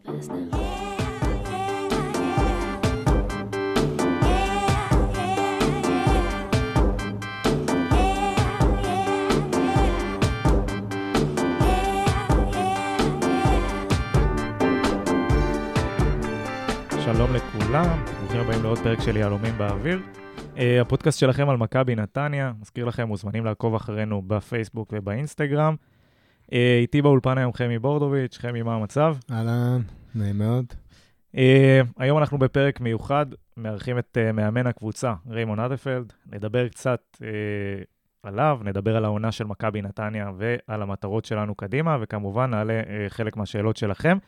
שלום לכולם, ברוכים הבאים לעוד פרק של יהלומים באוויר. הפודקאסט שלכם על מכבי נתניה, מזכיר לכם, מוזמנים לעקוב אחרינו בפייסבוק ובאינסטגרם. איתי באולפן היום חמי בורדוביץ'. חמי, מה המצב? אהלן, נעים מאוד. היום אנחנו בפרק מיוחד, מארחים את מאמן הקבוצה, ריימון אדלפלד. נדבר קצת עליו, נדבר על העונה של מכבי נתניה ועל המטרות שלנו קדימה, וכמובן נעלה חלק מהשאלות שלכם.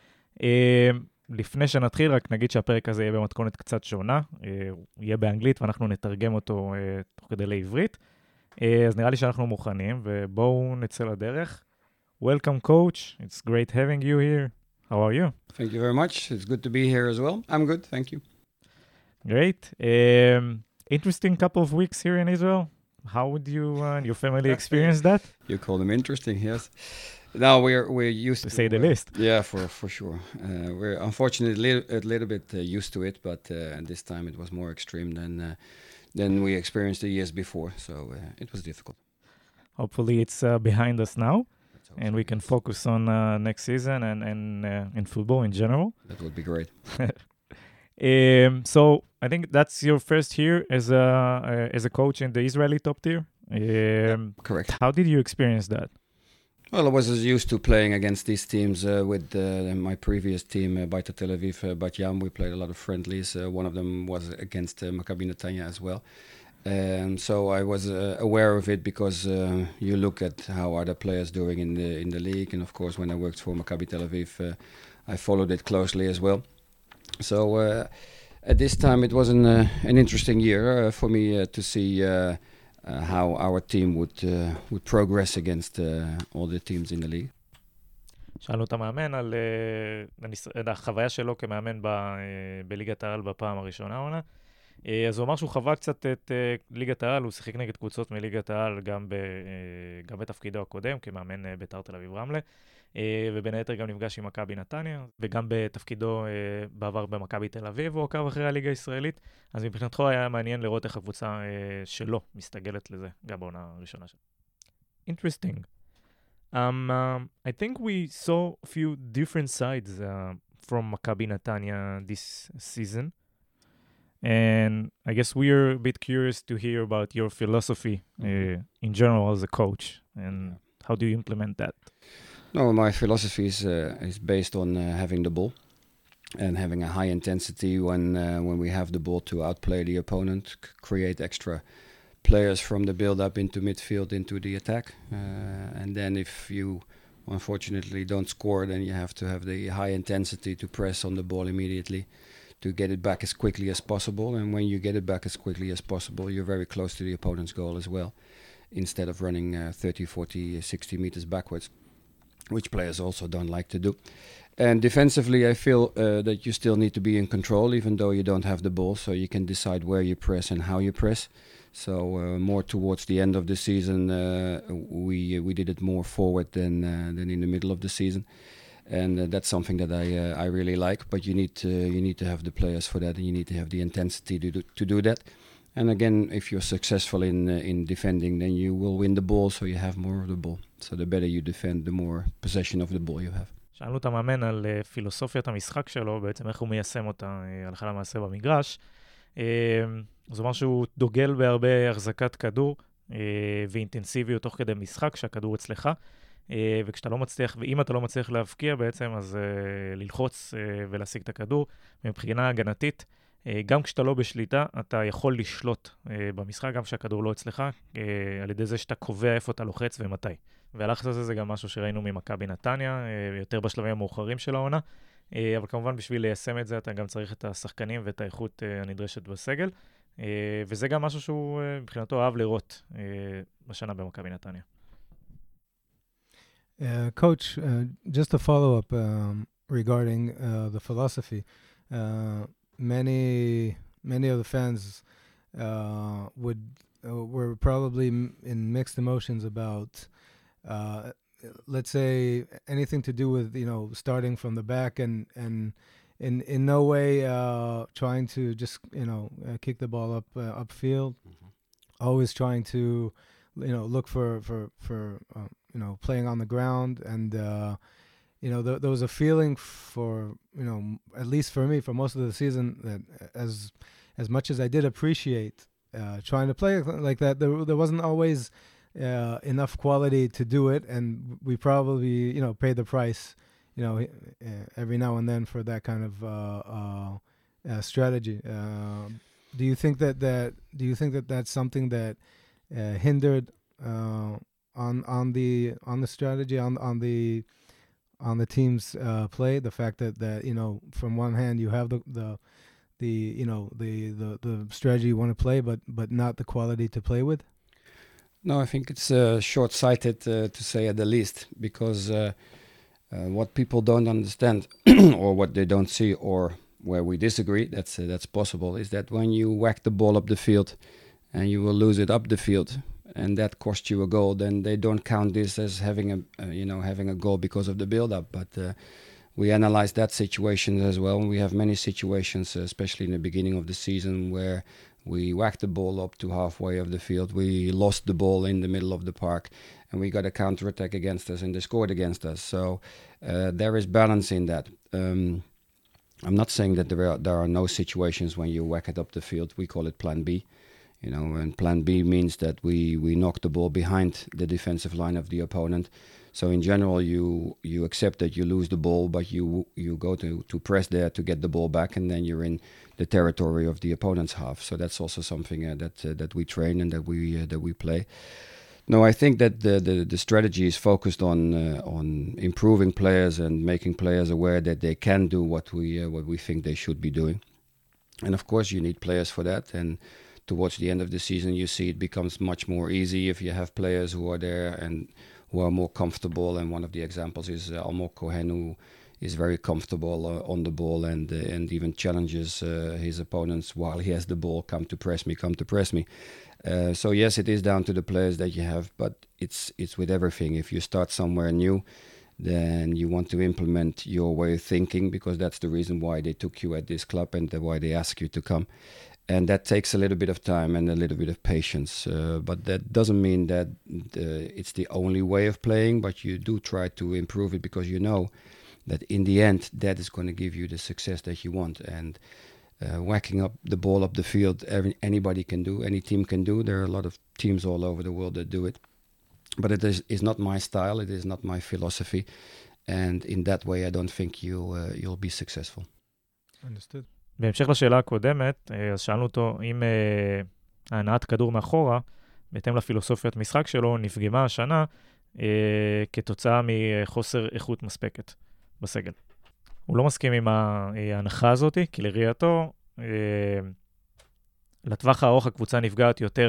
לפני שנתחיל, רק נגיד שהפרק הזה יהיה במתכונת קצת שונה, יהיה באנגלית ואנחנו נתרגם אותו תוך כדי לעברית. אז נראה לי שאנחנו מוכנים, ובואו נצא לדרך. Welcome coach, it's great having you here. How are you? Thank you very much. It's good to be here as well. I'm good, thank you. Great. Interesting couple of weeks here in Israel. How would you and your family experience that? You call them interesting, yes. No, we're used to say the least. Yeah, for sure. We're unfortunately a little bit used to it, but this time it was more extreme than we experienced the years before. So it was difficult. Hopefully it's behind us now, and we can focus on next season and in football in general. That would be great. So I think that's your first year as a coach in the Israeli top tier. Correct. How did you experience that? Well, I was used to playing against these teams with my previous team, Beitar Tel Aviv, Bat Yam. We played a lot of friendlies. One of them was against Maccabi Netanya as well. So I was aware of it because you look at how other players doing in the league. And of course, when I worked for Maccabi Tel Aviv, I followed it closely as well. So at this time, it was an interesting year for me to see how our team would progress against all the teams in the league. שאלנו את המאמן על החוויה שלו כמאמן בליגת העל בפעם הראשונה עונה. אז הוא אמר שהוא חווה קצת את ליגת העל, הוא שיחק נגד קבוצות מליגת העל גם בתפקידו הקודם, כמאמן בית"ר תל אביב רמלה, ובין היתר גם נפגש עם מכבי נתניה, וגם בתפקידו בעבר במכבי תל אביב, הוא עקב אחרי הליגה הישראלית, אז מבחינתך היה מעניין לראות איך הקבוצה שלו מסתגלת לזה, גם בעונה הראשונה שלו. Interesting. I think we saw a few different sides from Maccabi Netanya this season. And I guess we are a bit curious to hear about your philosophy in general as a coach, and how do you implement that? No, my philosophy is based on having the ball and having a high intensity when we have the ball to outplay the opponent, create extra players from the build-up into midfield, into the attack. And then if you unfortunately don't score, then you have to have the high intensity to press on the ball immediately, to get it back as quickly as possible. And when you get it back as quickly as possible, you're very close to the opponent's goal as well, instead of running 30, 40, 60 meters backwards, which players also don't like to do. And defensively, I feel that you still need to be in control, even though you don't have the ball, so you can decide where you press and how you press. So more towards the end of the season, we did it more forward than in the middle of the season. And that's something that I really like, but you need to have the players for that, and you need to have the intensity to do that. And again, if you're successful in defending, then you will win the ball, so you have more of the ball. So the better you defend, the more possession of the ball you have. שאלנו את המאמן על פילוסופיית המשחק שלו, בעצם איך הוא מיישם אותה הלכה למעשה במגרש. אז הוא אמר שהוא דוגל בהרבה החזקת כדור ואינטנסיביות תוך כדי משחק, שהכדור אצלך. וכשאתה לא מצליח, ואם אתה לא מצליח להבקיע בעצם, אז ללחוץ ולהשיג את הכדור. מבחינה הגנתית, גם כשאתה לא בשליטה, אתה יכול לשלוט במשחק, גם כשהכדור לא אצלך, על ידי זה שאתה קובע איפה אתה לוחץ ומתי. והלחץ הזה זה גם משהו שראינו ממכבי נתניה, יותר בשלבים המאוחרים של העונה, אבל כמובן בשביל ליישם את זה, אתה גם צריך את השחקנים ואת האיכות הנדרשת בסגל, וזה גם משהו שהוא מבחינתו אהב לראות בשנה במכבי נתניה. Coach, just a follow-up regarding the philosophy. Many of the fans were probably in mixed emotions about let's say, anything to do with, starting from the back and in no way trying to just, kick the ball upfield. Always trying to, look for playing on the ground. And, there was a feeling for, at least for me, for most of the season, that as much as I did appreciate trying to play like that, there wasn't always enough quality to do it, and we probably paid the price every now and then for that kind of strategy. Do you think that that's something that hindered on the strategy, on the team's play, the fact that from one hand you have the strategy you want to play, but not the quality to play with? No, I think it's short-sighted to say at the least, because what people don't understand or what they don't see, or where we disagree, that's possible, is that when you whack the ball up the field and you will lose it up the field and that costs you a goal, then they don't count this as having a goal because of the build-up. But we analyze that situation as well. We have many situations, especially in the beginning of the season, where we whacked the ball up to halfway of the field. We lost the ball in the middle of the park, and we got a counter-attack against us, and they scored against us. So there is balance in that. I'm not saying that there are no situations when you whack it up the field. We call it Plan B. And Plan B means that we knock the ball behind the defensive line of the opponent. So in general, you accept that you lose the ball, but you go to press there to get the ball back, and then you're in the territory of the opponent's half. So that's also something that we train and that we play. No, I think that the strategy is focused on improving players and making players aware that they can do what we think they should be doing. And of course, you need players for that. And towards the end of the season, you see it becomes much more easy if you have players who are there and who are more comfortable. And one of the examples is Almog Cohen, who is very comfortable on the ball and even challenges his opponents while he has the ball. Come to press me. So yes, it is down to the players that you have, but it's with everything. If you start somewhere new, then you want to implement your way of thinking, because that's the reason why they took you at this club and why they ask you to come. And that takes a little bit of time and a little bit of patience. But that doesn't mean that it's the only way of playing, but you do try to improve it, because you know that in the end, that is going to give you the success that you want. And whacking up the ball up the field, anybody can do, any team can do. There are a lot of teams all over the world that do it. But it is not my style, it is not my philosophy. And in that way, I don't think you'll be successful. Understood. בהמשך לשאלה הקודמת, אז שאלנו אותו אם ההנעת כדור מאחורה, בהתאם לפילוסופיית משחק שלו, נפגמה השנה כתוצאה מחוסר איכות מספקת בסגל. הוא לא מסכים עם ההנחה הזאת, כי לראייתו, לטווח הארוך הקבוצה נפגעת יותר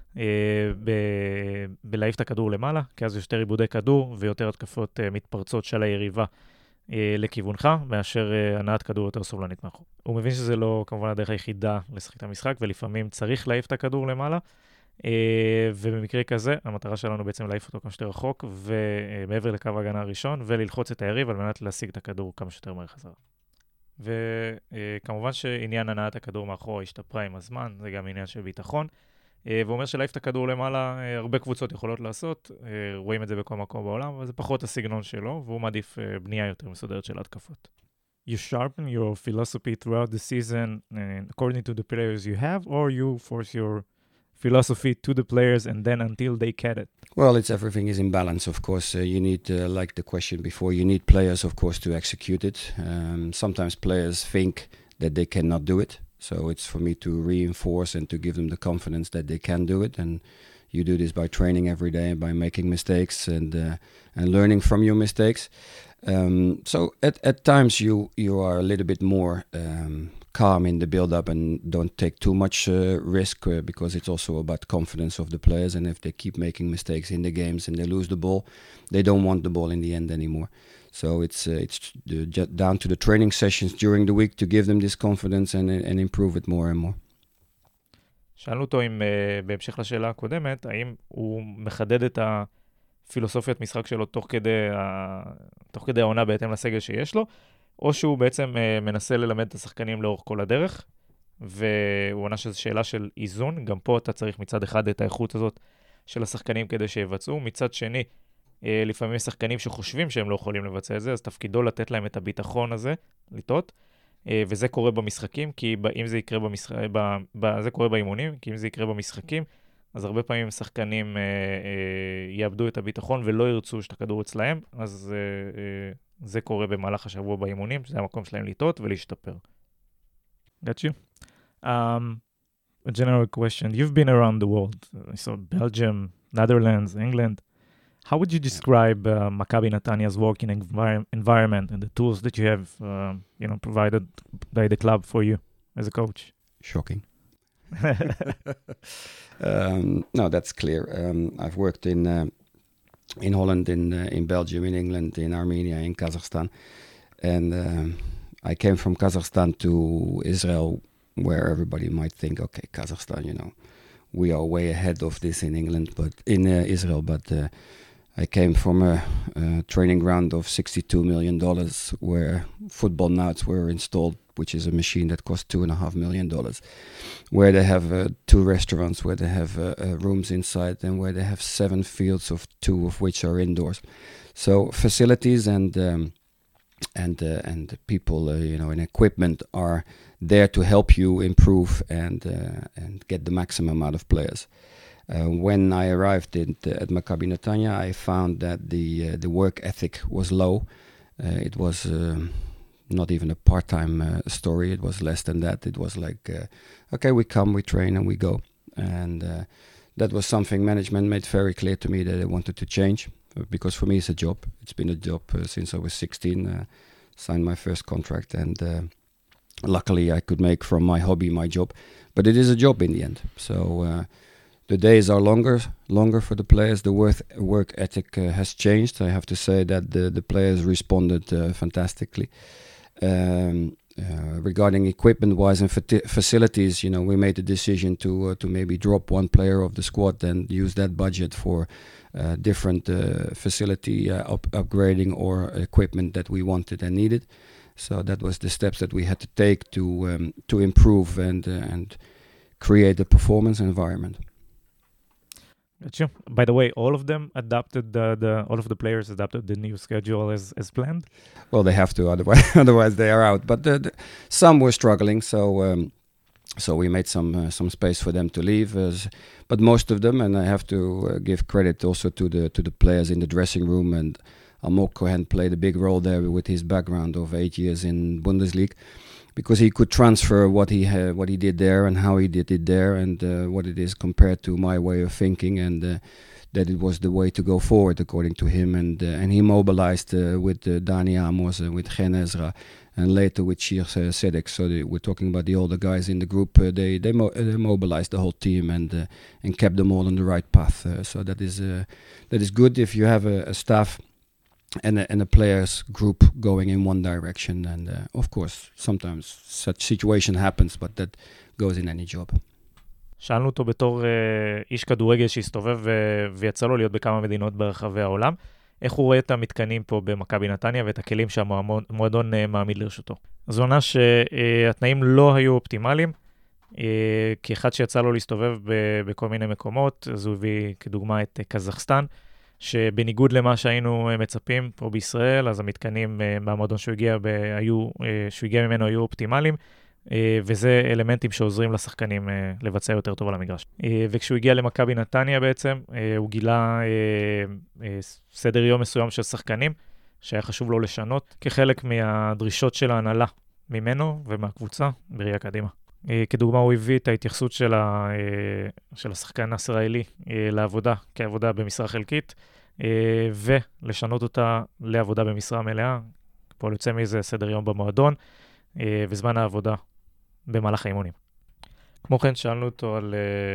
בלהעיף את הכדור למעלה, כי אז יש יותר עיבודי כדור ויותר התקפות מתפרצות של היריבה לכיוונך, מאשר הנעת כדור יותר סובלנית מאחור. הוא מבין שזה לא כמובן הדרך היחידה לשחק את המשחק, ולפעמים צריך להעיף את הכדור למעלה, ובמקרה כזה, המטרה שלנו בעצם להעיף אותו כמה שיותר רחוק, ומעבר לקו ההגנה הראשון, וללחוץ את היריב על מנת להשיג את הכדור כמה שיותר מהר חזרה. וכמובן שעניין הנעת הכדור מאחור השתפרה עם הזמן, זה גם עניין של ביטחון, והוא אומר שלהעיף את הכדור למעלה, הרבה קבוצות יכולות לעשות, רואים את זה בכל מקום בעולם, אבל זה פחות הסגנון שלו, והוא מעדיף בנייה יותר מסודרת של התקפות. You sharpen your philosophy throughout the season according to the players you have, or you force your philosophy to the players and then until they get it? Well, everything is in balance, of course. You need, like the question before, you need players, of course, to execute it. Sometimes players think that they cannot do it. So it's for me to reinforce and to give them the confidence that they can do it. And you do this by training every day, by making mistakes and learning from your mistakes. So at times you are a little bit more calm in the build-up and don't take too much risk, because it's also about confidence of the players. And if they keep making mistakes in the games and they lose the ball, they don't want the ball in the end anymore. So it's down to the training sessions during the week to give them this confidence and improve it more and more. שאלנו אותו אם בהמשך לשאלה הקודמת, האם הוא מחדד את הפילוסופיית משחק שלו תוך כדי העונה בהתאם לסגל שיש לו, או שהוא בעצם מנסה ללמד את השחקנים לאורך כל הדרך, והוא עונה שזו שאלה של איזון, גם פה אתה צריך מצד אחד את האיכות הזאת של השחקנים כדי שיבצעו, מצד שני, לפעמים יש שחקנים שחושבים שהם לא יכולים לבצע את זה, אז תפקידו לתת להם את הביטחון הזה, לטעות, וזה קורה במשחקים, כי אם זה יקרה זה קורה באימונים, כי אם זה יקרה במשחקים, אז הרבה פעמים שחקנים יאבדו את הביטחון ולא ירצו שאת הכדור אצלהם, אז זה קורה במהלך השבוע באימונים, שזה המקום שלהם לטעות ולהשתפר. Got you? A general question. You've been around the world. So Belgium, Netherlands, England. How would you describe Maccabi Netanyah's working environment and the tools that you have, provided by the club for you as a coach? Shocking. No, that's clear. I've worked in Holland, in Belgium, in England, in Armenia, in Kazakhstan, and I came from Kazakhstan to Israel, where everybody might think, okay, Kazakhstan, we are way ahead of this in England, but in Israel, but I came from a training ground of $62 million, where football nuts were installed, which is a machine that cost $2.5 million, where they have 2 restaurants, where they have rooms inside, and where they have 7 fields, of 2 of which are indoors. So facilities and people, and equipment are there to help you improve and get the maximum out of players. When I arrived at Maccabi Netanya, I found that the work ethic was low. It was not even a part-time story. It was less than that. It was like, okay, we come, we train, and we go. And that was something management made very clear to me that they wanted to change, because for me it's a job. It's been a job since I was 16, signed my first contract, and luckily I could make from my hobby my job. But it is a job in the end. So the days are longer for the players. The work ethic has changed. I have to say that the players responded fantastically. Regarding equipment-wise and facilities, we made the decision to maybe drop 1 player of the squad and use that budget for different facility upgrading or equipment that we wanted and needed. So that was the steps that we had to take to improve and create a performance environment. Gotcha. By the way, all of them adapted all of the players adapted the new schedule as planned? Well, they have to, otherwise they are out. But some were struggling, so we made some space for them to leave. But most of them, and I have to give credit also to the players in the dressing room, and Almog Cohen played a big role there with his background of 8 years in Bundesliga, because he could transfer what he did there and how he did it there, and what it is compared to my way of thinking, and that it was the way to go forward according to him. And he mobilized with Dani Amos and with Gen Ezra, and later with Shir Sedek. So we're talking about the older guys in the group. They mobilized the whole team and kept them all on the right path. So that is good if you have a staff and a players group going in one direction. And of course, sometimes such situation happens, but that goes in any job. שאלנו אותו בתור איש כדורגל שהסתובב ויצא לו להיות בכמה מדינות ברחבי העולם, איך הוא רואה את המתקנים פה במכבי נתניה ואת הכלים שהמועדון מעמיד לרשותו. זו עונה שהתנאים לא היו אופטימליים, כאחד שיצא לו להסתובב בכל מיני מקומות, אז הוא הביא כדוגמה את קזחסטן, שבניגוד למה שהיינו מצפים פה בישראל, אז המתקנים מהמועדון שהוא הגיע ממנו היו אופטימליים, וזה אלמנטים שעוזרים לשחקנים לבצע יותר טוב על המגרש. וכשהוא הגיע למכבי נתניה בעצם, הוא גילה סדר יום מסוים של שחקנים, שהיה חשוב לו לשנות, כחלק מהדרישות של ההנהלה ממנו ומהקבוצה בראייה קדימה. כדוגמה, הוא הביא את ההתייחסות של השחקן הישראלי לעבודה, כעבודה במשרה חלקית, ולשנות אותה לעבודה במשרה מלאה. פה יוצא מזה סדר יום במועדון, וזמן העבודה במהלך האימונים. כמו כן, שאלנו אותו על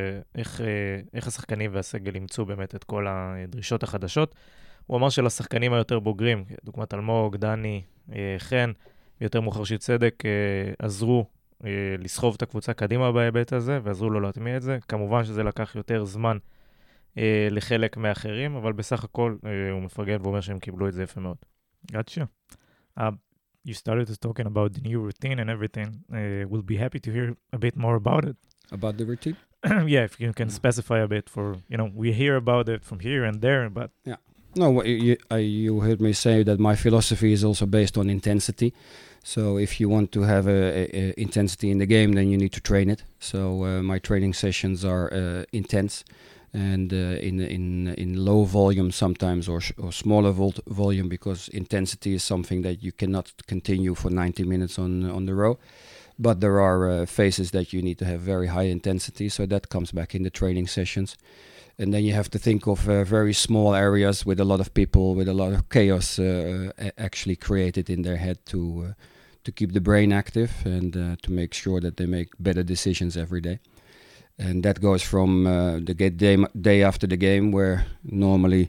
איך השחקנים והסגל ימצאו באמת את כל הדרישות החדשות. הוא אמר שלשחקנים היותר בוגרים, דוגמת אלמוג, דני, חן, ויותר מאוחר של צדק, עזרו לסחוב את הקבוצה קדימה בהיבט הזה, ועזרו לו להטמיע את זה. כמובן שזה לקח יותר זמן לחלק מאחרים, אבל בסך הכל הוא מפרגן ואומר שהם קיבלו את זה יפה מאוד. Gotcha. You started to talking about the new routine and everything. We'll be happy to hear a bit more about it. About the routine? Yeah, if you can specify a bit for, we hear about it from here and there, but... Yeah. No, you heard me say that my philosophy is also based on intensity. So if you want to have a intensity in the game, then you need to train it. So my training sessions are intense. And in low volume sometimes or smaller volume, because intensity is something that you cannot continue for 90 minutes on the row. But there are phases that you need to have very high intensity, so that comes back in the training sessions. And then you have to think of very small areas with a lot of people, with a lot of chaos actually created in their head to keep the brain active and to make sure that they make better decisions every day. And that goes from the day after the game, where normally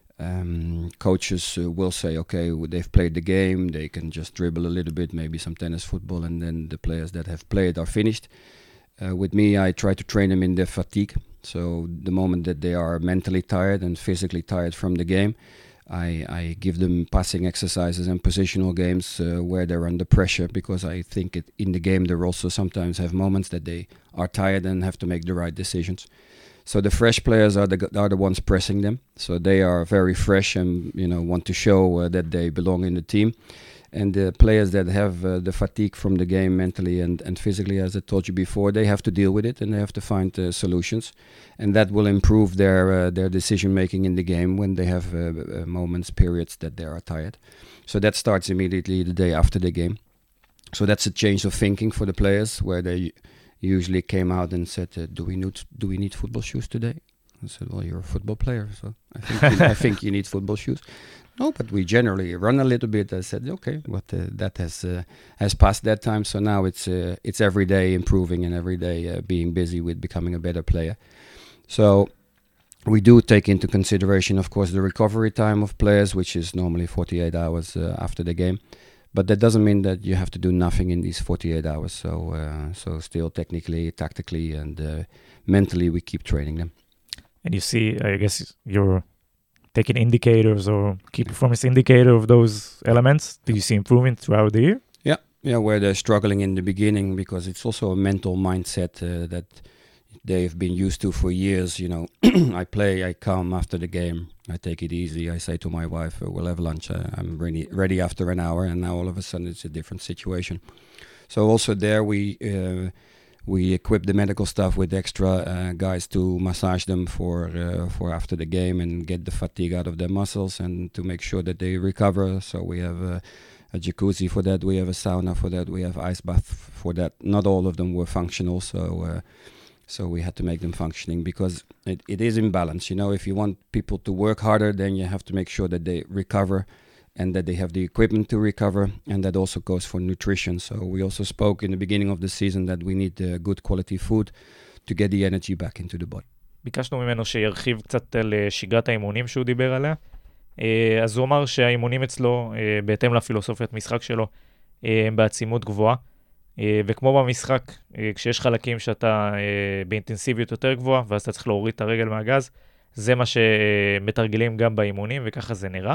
coaches will say, okay, they've played the game, they can just dribble a little bit, maybe some tennis, football, and then the players that have played are finished. With me, I try to train them in their fatigue. So the moment that they are mentally tired and physically tired from the game, I give them passing exercises and positional games where they're under pressure, because I think in the game they also sometimes have moments that they are tired and have to make the right decisions. So the fresh players are the ones pressing them. So they are very fresh and want to show that they belong in the team. And the players that have the fatigue from the game mentally and physically, as I told you before, they have to deal with it and they have to find solutions. And that will improve their decision-making in the game when they have moments, periods that they are tired. So that starts immediately the day after the game. So that's a change of thinking for the players, where they usually came out and said, do we need football shoes today? I said, well, you're a football player, so I think you need football shoes. No, but we generally run a little bit. I said, okay, but that has passed that time. So now it's every day improving and every day being busy with becoming a better player. So we do take into consideration, of course, the recovery time of players, which is normally 48 hours after the game. But that doesn't mean that you have to do nothing in these 48 hours. So still technically, tactically, and mentally, we keep training them. And you see, I guess you're taking indicators or key performance indicator of those elements. Do you see improvement throughout the year? Yeah, where they're struggling in the beginning, because it's also a mental mindset that they've been used to for years. I play, I come after the game, I take it easy. I say to my wife, we'll have lunch. I'm ready after an hour, and now all of a sudden it's a different situation. So also there we equip the medical staff with extra guys to massage them for after the game and get the fatigue out of their muscles and to make sure that they recover. So we have a jacuzzi for that, we have a sauna for that, we have ice bath for that. Not all of them were functional, so we had to make them functioning, because it is in balance. If you want people to work harder, then you have to make sure that they recover and that they have the equipment to recover, and that also goes for nutrition. So we also spoke in the beginning of the season that we need good quality food to get the energy back into the body. ביקשנו ממנו שירחיב קצת על שגרת האימונים שהוא דיבר עליה. אז הוא אמר שהאימונים אצלו, בהתאם לפילוסופיית משחק שלו, הם בעצימות גבוהה. וכמו במשחק, כשיש חלקים שאתה באינטנסיביות יותר גבוהה, ואז אתה צריך להוריד את הרגל מהגז, זה מה שמתרגלים גם באימונים, וככה זה נראה.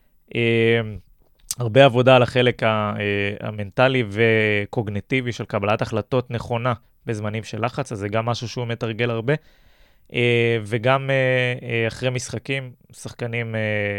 הרבה עבודה על החלק המנטלי וקוגניטיבי של קבלת החלטות נכונה בזמנים של לחץ, אז זה גם משהו שהוא מתרגל הרבה. וגם אחרי משחקים, שחקנים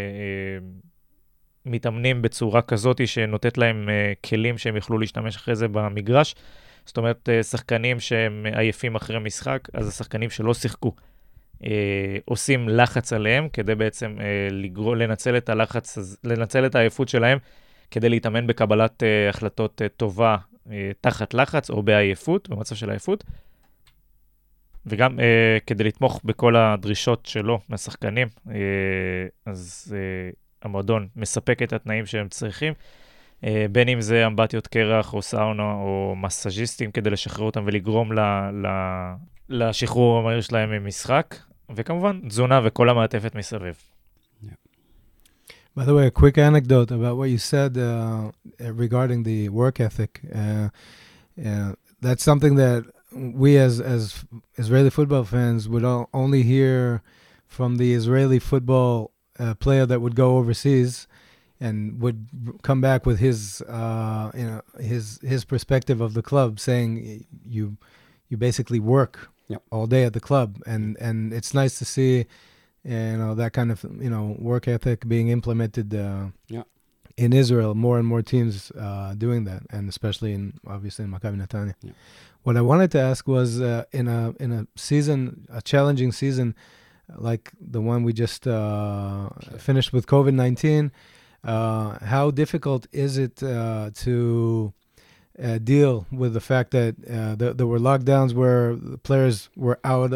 מתאמנים בצורה כזאת שנותנת להם כלים שהם יוכלו להשתמש אחרי זה במגרש. זאת אומרת, שחקנים שהם עייפים אחרי משחק, אז השחקנים שלא שיחקו עושים לחץ עליהם, כדי בעצם לנצל את הלחץ, לנצל את העייפות שלהם, כדי להתאמן בקבלת החלטות טובה תחת לחץ או בעייפות, במצב של עייפות. וגם כדי לתמוך בכל הדרישות שלו מהשחקנים, אז המועדון מספק את התנאים שהם צריכים, בין אם זה אמבטיות קרח או סאונה או מסאז'יסטים, כדי לשחרר אותם ולגרום לשחרור המהיר שלהם ממשחק, וכמובן תזונה וכל המעטפת מסביב. By the way, a quick anecdote about what you said regarding the work ethic. That's something that we as Israeli football fans would only hear from the Israeli football player that would go overseas and would come back with his his perspective of the club, saying you basically work all day at the club, and it's nice to see that kind of work ethic being implemented in Israel. More and more teams doing that, and especially obviously in Maccabi Netanya. Yeah. What I wanted to ask was in a season, a challenging season like the one we just finished with COVID-19, how difficult is it to deal with the fact that there were lockdowns where the players were out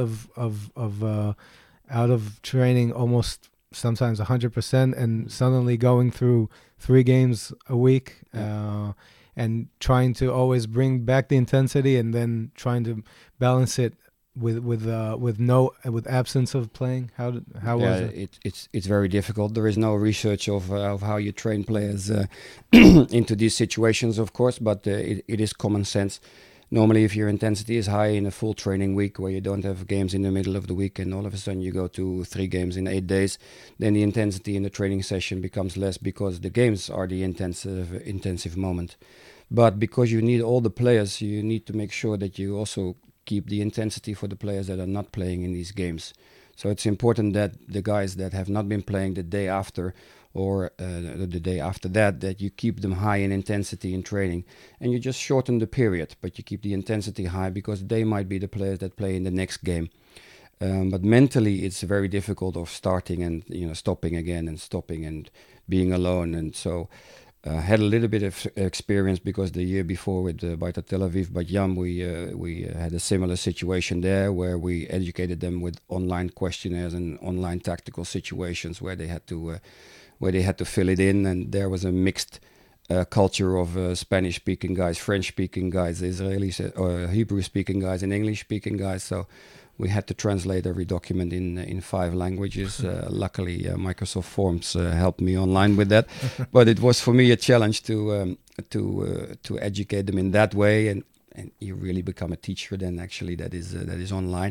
of training almost sometimes 100%, and suddenly going through 3 games a week and trying to always bring back the intensity and then trying to balance it with absence of playing? How was it? It's very difficult. There is no research of how you train players into these situations, of course, but it is common sense. Normally, if your intensity is high in a full training week where you don't have games in the middle of the week and all of a sudden you go to 3 games in 8 days, then the intensity in the training session becomes less because the games are the intensive moment. But because you need all the players, you need to make sure that you also keep the intensity for the players that are not playing in these games. So it's important that the guys that have not been playing the day after or the day after that you keep them high in intensity in training, and you just shorten the period, but you keep the intensity high because they might be the players that play in the next game. But mentally, it's very difficult of starting and stopping again and stopping and being alone. And so had a little bit of experience because the year before with Beitar Tel Aviv, Bat Yam, we had a similar situation there where we educated them with online questionnaires and online tactical situations where they had to fill it in, and there was a mixed culture of Spanish-speaking guys, French-speaking guys, Israelis, Hebrew-speaking guys, and English-speaking guys. So we had to translate every document in 5 languages. Luckily, Microsoft Forms helped me online with that. But it was for me a challenge to educate them in that way, and you really become a teacher then. Actually, that is online.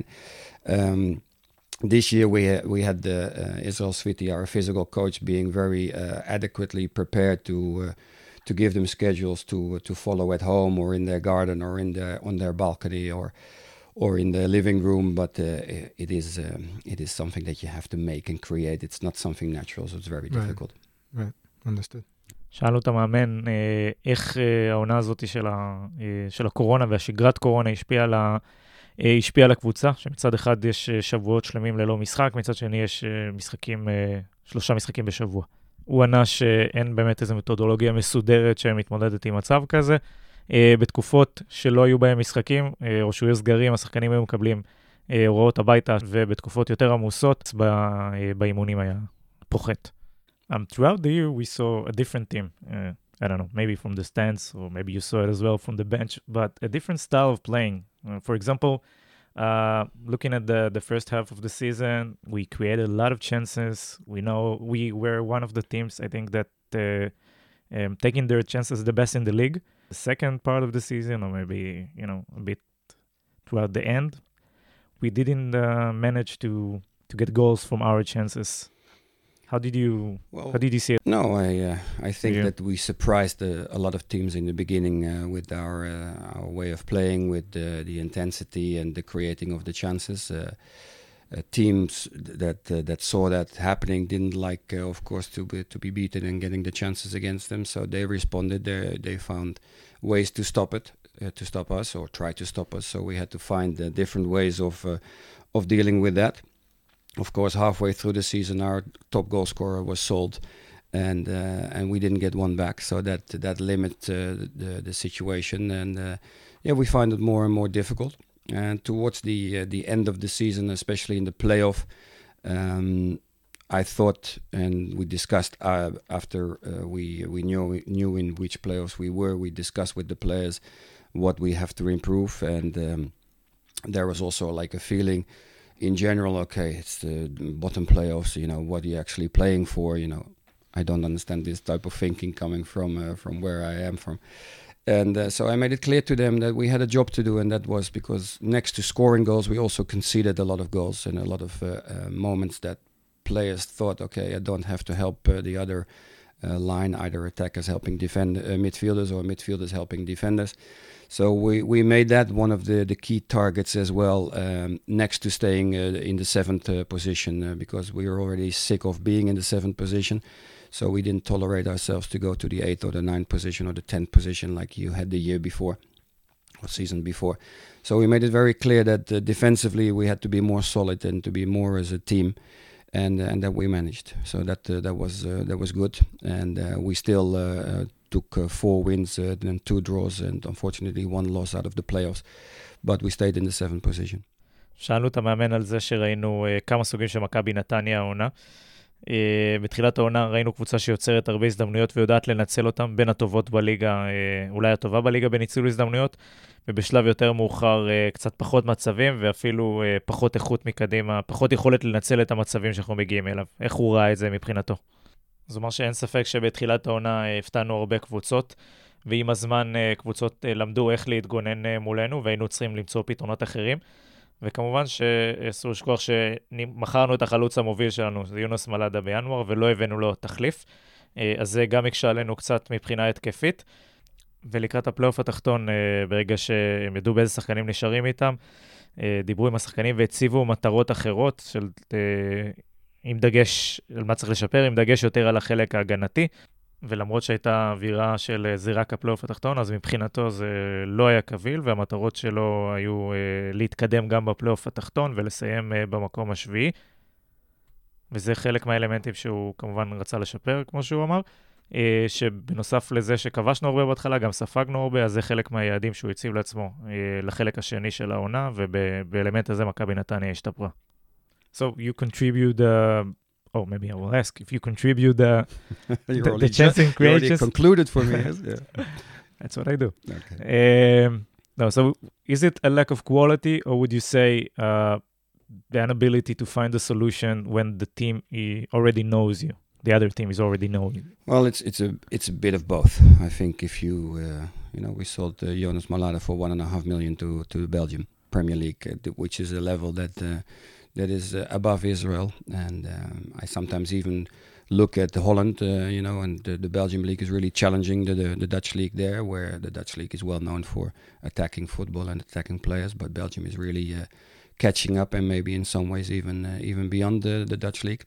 This year we had Israel Sviti, our physical coach, being very adequately prepared to give them schedules to follow at home or in their garden or on their balcony or in the living room, but it is something that you have to make and create. It's not something natural, so it's very difficult. Right, understood. שאלנו את המאמן איך העונה הזאת של הקורונה והשגרת קורונה השפיעה על הקבוצה, שמצד אחד יש שבועות שלמים ללא משחק, מצד שני יש 3 משחקים בשבוע. הוא ענה שאין באמת איזו מתודולוגיה מסודרת שמתמודדת עם מצב כזה. בתקופות שלא היו בהם משחקים, או שהיו סגרים, השחקנים היו מקבלים הוראות הביתה, ובתקופות יותר עמוסות, באימונים היה פוחת. Throughout the year, we saw a different team. I don't know, maybe from the stands, or maybe you saw it as well from the bench, but a different style of playing. For example, looking at the first half of the season, we created a lot of chances. We know we were one of the teams, I think, that taking their chances the best in the league. The second part of the season, or maybe, a bit throughout the end, we didn't manage to get goals from our chances. How did you see it? No, I think that we surprised a lot of teams in the beginning with our way of playing, with the intensity and the creating of the chances. Teams that saw that happening didn't like, of course, to be beaten and getting the chances against them. So they responded. They found ways to stop it, to stop us, or try to stop us. So we had to find different ways of dealing with that. Of course, halfway through the season, our top goal scorer was sold, and we didn't get one back. So that limited the situation, and we find it more and more difficult. And towards the end of the season, especially in the playoff, I thought, and we discussed after we knew in which playoffs we were. We discussed with the players what we have to improve, and there was also like a feeling. In general, okay, it's the bottom playoffs, what are you actually playing for? I don't understand this type of thinking coming from where I am from. And so I made it clear to them that we had a job to do, and that was because next to scoring goals, we also conceded a lot of goals and a lot of moments that players thought, okay, I don't have to help the other line, either attackers helping defend midfielders or midfielders helping defenders. So we made that one of the key targets as well, next to staying in the 7th position, because we were already sick of being in the 7th position. So we didn't tolerate ourselves to go to the 8th or the 9th position or the 10th position like you had the year before or season before. So we made it very clear that defensively we had to be more solid and to be more as a team, and that we managed. So that was good, and we still took 4 wins and 2 draws, and unfortunately 1 loss out of the playoffs, but we stayed in the 7th position. שאלנו את המאמן על זה שראינו כמה סוגים של מכבי נתניה העונה. בתחילת העונה ראינו קבוצה שיוצרת הרבה הזדמנויות ויודעת לנצל אותם, בין הטובות בליגה, אולי הטובה בליגה בניצול הזדמנויות, ובשלב יותר מאוחר קצת פחות מצבים, ואפילו פחות איכות מקדימה, פחות יכולת לנצל את המצבים שאנחנו מגיעים אליו. איך הוא ראה את זה מבחינתו? זאת אומרת שאין ספק שבתחילת העונה הפתענו הרבה קבוצות, ועם הזמן קבוצות למדו איך להתגונן מולנו, והיינו צריכים למצוא פתרונות אחרים. וכמובן שאסור לשכוח שמכרנו את החלוץ המוביל שלנו, זה יונס מלאדה בינואר, ולא הבאנו לו תחליף. אז זה גם יקשה עלינו קצת מבחינה התקפית. ולקראת הפלייאוף התחתון, ברגע שהם ידעו באיזה שחקנים נשארים איתם, דיברו עם השחקנים והציבו מטרות אחרות, עם דגש על מה צריך לשפר, עם דגש יותר על החלק ההגנתי. ולמרות שהייתה אווירה של זירת הפלייאוף התחתון, אז מבחינתו זה לא היה קביל, והמטרות שלו היו להתקדם גם בפלייאוף התחתון ולסיים במקום השביעי. וזה חלק מהאלמנטים שהוא כמובן רצה לשפר, כמו שהוא אמר, שבנוסף לזה שכבשנו הרבה בהתחלה, גם ספגנו הרבה, אז זה חלק מהיעדים שהוא הציב לעצמו לחלק השני של העונה, ובאלמנט הזה מכבי נתניה השתפרה. So you contribute oh, maybe I will ask if you contribute the chance and create. You already concluded for me. Yes? Yeah. That's what I do. Okay. No, so is it a lack of quality, or would you say the inability to find a solution when the team already knows you? The other team is already knowing you. Well, it's a bit of both. I think if you we sold Jonas Malada for 1.5 million to Belgium Premier League, which is a level that is above Israel, and I sometimes even look at Holland, and the Belgium league is really challenging the Dutch league there, where the Dutch league is well known for attacking football and attacking players, but Belgium is really catching up, and maybe in some ways even beyond the Dutch league.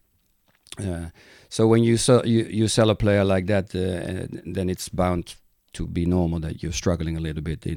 So when you sell a player like that, then it's bound to be normal that you're struggling a little bit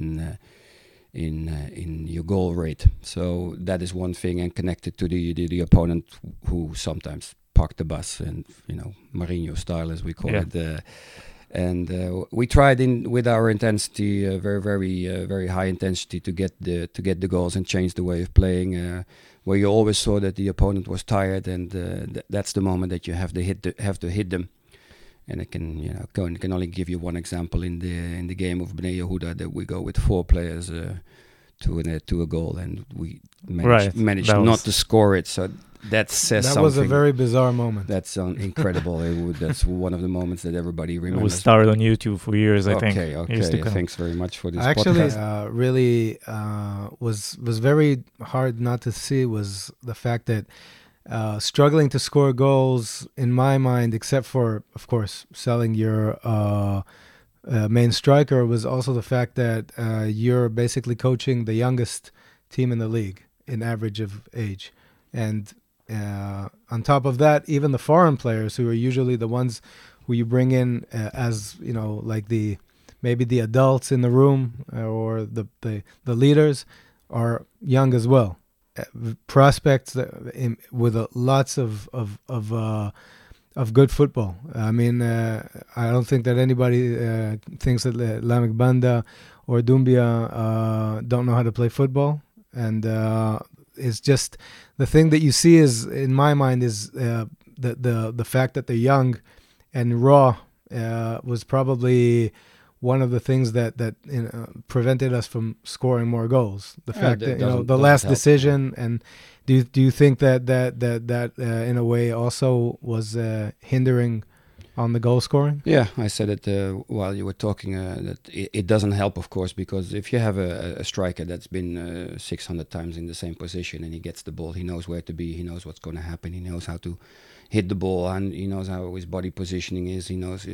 in your goal rate. So that is one thing, and connected to the opponent who sometimes park the bus, and Mourinho style, as we call it. And we tried with our intensity, very very high intensity, to get the goals and change the way of playing, where you always saw that the opponent was tired, and that's the moment that you have to hit them. And I can only give you one example in the game of Bnei Yehuda, that we go with 4 players to a goal, and we managed not to score it. So that says something. That was a very bizarre moment. That's incredible. That's one of the moments that everybody remembers. It was started on YouTube for years, I think. Okay. Thanks very much for this Actually, podcast. Really was very hard not to see was the fact that struggling to score goals, in my mind, except for, of course, selling your main striker, was also the fact that you're basically coaching the youngest team in the league in average of age. And on top of that, even the foreign players, who are usually the ones who you bring in as, like maybe the adults in the room, or the leaders, are young as well. Prospects with lots of good football. I mean, I don't think that anybody thinks that Lamek Banda or Doumbia don't know how to play football, and it's just the thing that you see is, in my mind, is the fact that they're young and raw was probably one of the things that prevented us from scoring more goals. The fact that the last decision, and do you think that in a way also was hindering on the goal scoring? Yeah, I said it while you were talking, that it doesn't help, of course, because if you have a striker that's been 600 times in the same position and he gets the ball, he knows where to be, he knows what's going to happen, he knows how to hit the ball, and he knows how his body positioning is, he knows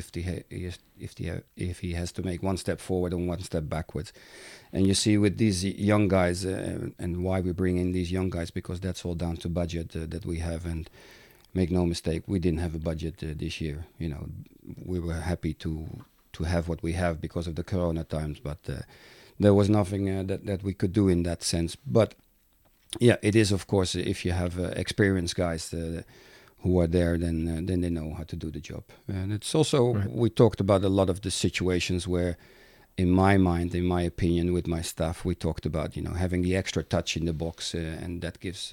if he has to make one step forward and one step backwards. And you see with these young guys, and why we bring in these young guys, because that's all down to budget that we have. And make no mistake, we didn't have a budget this year. We were happy to have what we have because of the Corona times, but there was nothing that we could do in that sense. But yeah, it is, of course, if you have experienced guys who are there, then they know how to do the job. And it's also, we talked about a lot of the situations where, in my mind, in my opinion, with my staff, we talked about, having the extra touch in the box, and that gives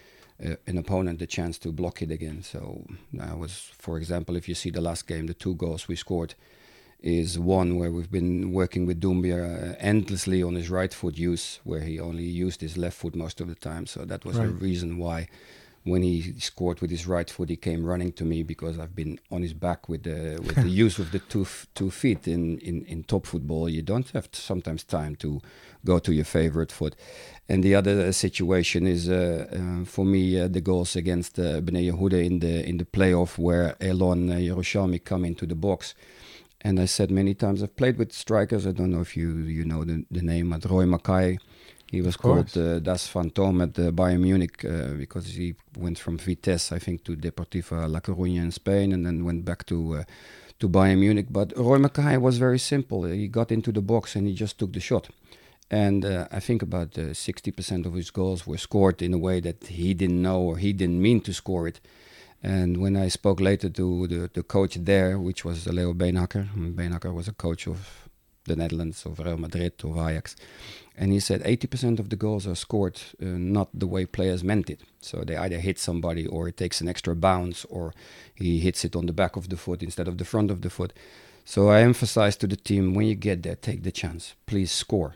an opponent the chance to block it again. So for example, if you see the last game, the 2 goals we scored is one where we've been working with Doumbia endlessly on his right foot use, where he only used his left foot most of the time. So that was the reason why when he scored with his right foot, he came running to me, because I've been on his back with the use of the two feet in top football. You don't have sometimes time to go to your favorite foot. And the other situation is for me the goals against Bnei Yehuda in the playoff, where Elon Yerushalmi come into the box. And I said many times, I've played with strikers. I don't know if you know the name, Roy Mackay. He was called Das Phantom at Bayern Munich because he went from Vitesse, I think, to Deportivo La Coruña in Spain, and then went back to Bayern Munich. But Roy Mackay was very simple. He got into the box and he just took the shot. And I think about 60% of his goals were scored in a way that he didn't know or he didn't mean to score it. And when I spoke later to the coach there, which was Leo Beenhakker, Beenhakker was a coach of the Netherlands, of Real Madrid, of Ajax. And he said 80% of the goals are scored not the way players meant it. So they either hit somebody, or it takes an extra bounce, or he hits it on the back of the foot instead of the front of the foot. So I emphasize to the team, when you get there, take the chance. Please score.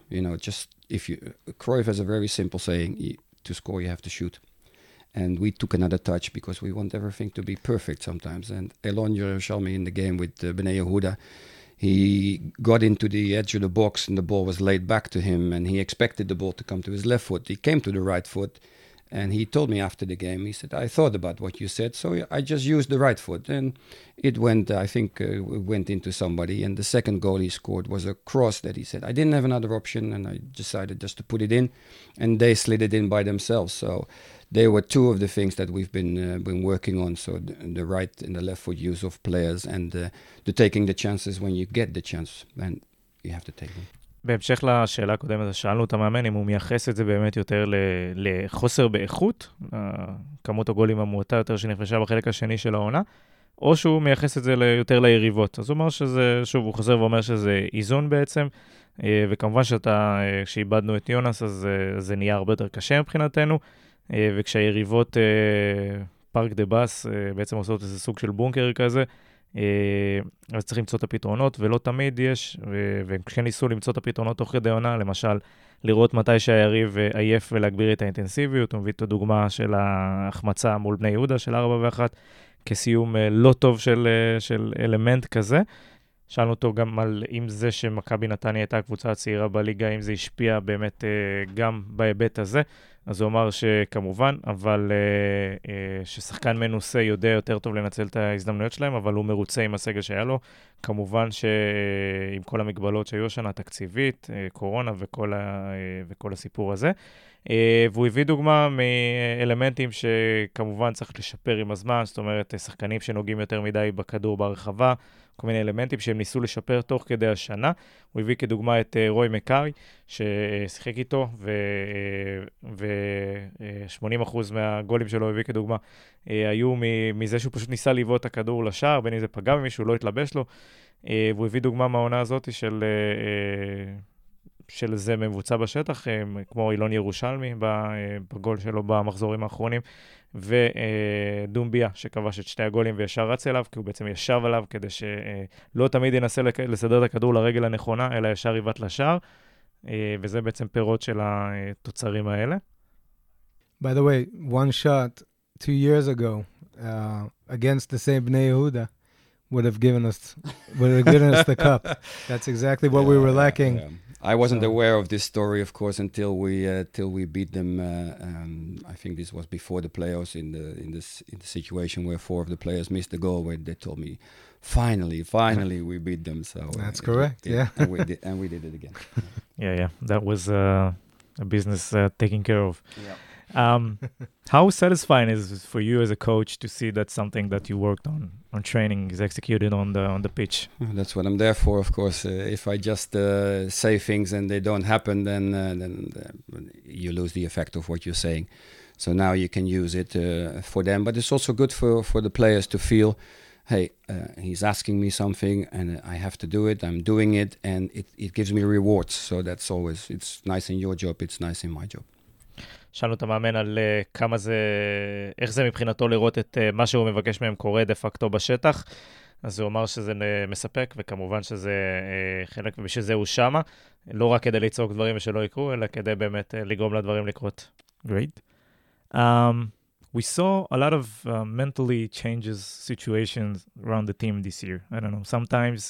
Cruyff has a very simple saying, to score you have to shoot. And we took another touch because we want everything to be perfect sometimes. And Elon Yerushalmi in the game with Bnei Yehuda, he got into the edge of the box and the ball was laid back to him, and he expected the ball to come to his left foot. He came to the right foot, and he told me after the game, he said, I thought about what you said, so I just used the right foot. And it went, I think, went into somebody. And the second goal he scored was a cross that he said, I didn't have another option, and I decided just to put it in, and they slid it in by themselves. So they were 2 of the things that we've been working on. So the right and the left foot use of players, and the taking the chances when you get the chance, and you have to take them. בהמשך לשאלה הקודמת, שאלנו את המאמן אם הוא מייחס את זה באמת יותר לחוסר באיכות, כמות הגולים המועטה יותר שנכבשה בחלק השני של העונה, או שהוא מייחס את זה יותר ליריבות. אז הוא אומר שזה, שוב, הוא חוזר ואומר שזה איזון בעצם, וכמובן כשאיבדנו את יונס, אז זה נהיה הרבה יותר קשה מבחינתנו, וכשהיריבות פארק דה בס בעצם עושות איזה סוג של בונקר כזה, אז צריך למצוא את הפתרונות, ולא תמיד יש, וכשהם ניסו למצוא את הפתרונות תוך כדי עונה, למשל, לראות מתי שהיריב עייף ולהגביר את האינטנסיביות, הוא מביא את הדוגמה של ההחמצה מול בני יהודה של 4-1, כסיום לא טוב של אלמנט כזה. שאלנו אותו גם על אם זה שמכבי נתניה הייתה הקבוצה הצעירה בליגה, אם זה השפיע באמת גם בהיבט הזה, אז הוא אמר שכמובן, אבל ששחקן מנוסה יודע יותר טוב לנצל את ההזדמנויות שלהם, אבל הוא מרוצה עם הסגל שהיה לו. כמובן שעם כל המגבלות שהיו שנה תקציבית, קורונה וכל הסיפור הזה. והוא הביא דוגמה מאלמנטים שכמובן צריך לשפר עם הזמן, זאת אומרת, שחקנים שנוגעים יותר מדי בכדור ברחבה, כל מיני אלמנטים שהם ניסו לשפר תוך כדי השנה. הוא הביא כדוגמה את רוי מקאי, ששיחק איתו, ו-80% מהגולים שלו הביא כדוגמה, היו מזה שהוא פשוט ניסה לבעוט את הכדור לשער, בין אם זה פגע במישהו, לא התלבש לו. והוא הביא דוגמה מהעונה הזאת של זה מבוצע בשטח, כמו אילון ירושלמי בגול שלו במחזורים האחרונים, ודומביה שכבש את 2 הגולים וישר רץ אליו, כי הוא בעצם ישב עליו כדי שלא תמיד ינסה לסדר את הכדור לרגל הנכונה, אלא ישר יבט לשער, וזה בעצם פירות של התוצרים האלה. By the way, one shot 2 years ago against the same Bnei Yehuda, would have given us the cup. That's exactly what we were lacking. Yeah. I wasn't aware of this story, of course, until we beat them. I think this was before the playoffs in the situation where 4 of the players missed the goal. Where they told me, finally, we beat them. So that's correct. Yeah, and we did it again. Yeah. That was a business taken care of. Yeah. How satisfying is it for you as a coach to see that something that you worked on training is executed on the pitch? That's what I'm there for, of course. If I just say things and they don't happen, then you lose the effect of what you're saying. So now you can use it for them, but it's also good for the players to feel, hey, he's asking me something and I have to do it. I'm doing it, and it gives me rewards. So that's always, it's nice in your job, it's nice in my job. שאלנו את המאמן על כמה זה, איך זה מבחינתו לראות את מה שהוא מבקש מהם קורה דה פקטו בשטח. אז הוא אמר שזה מספק, וכמובן שזה חלק, ובשביל זה הוא שמה, לא רק כדי לצעוק דברים ושלא יקרו, אלא כדי באמת לגרום לדברים לקרות. Great. We saw a lot of mentally changes situations around the team this year. I don't know, sometimes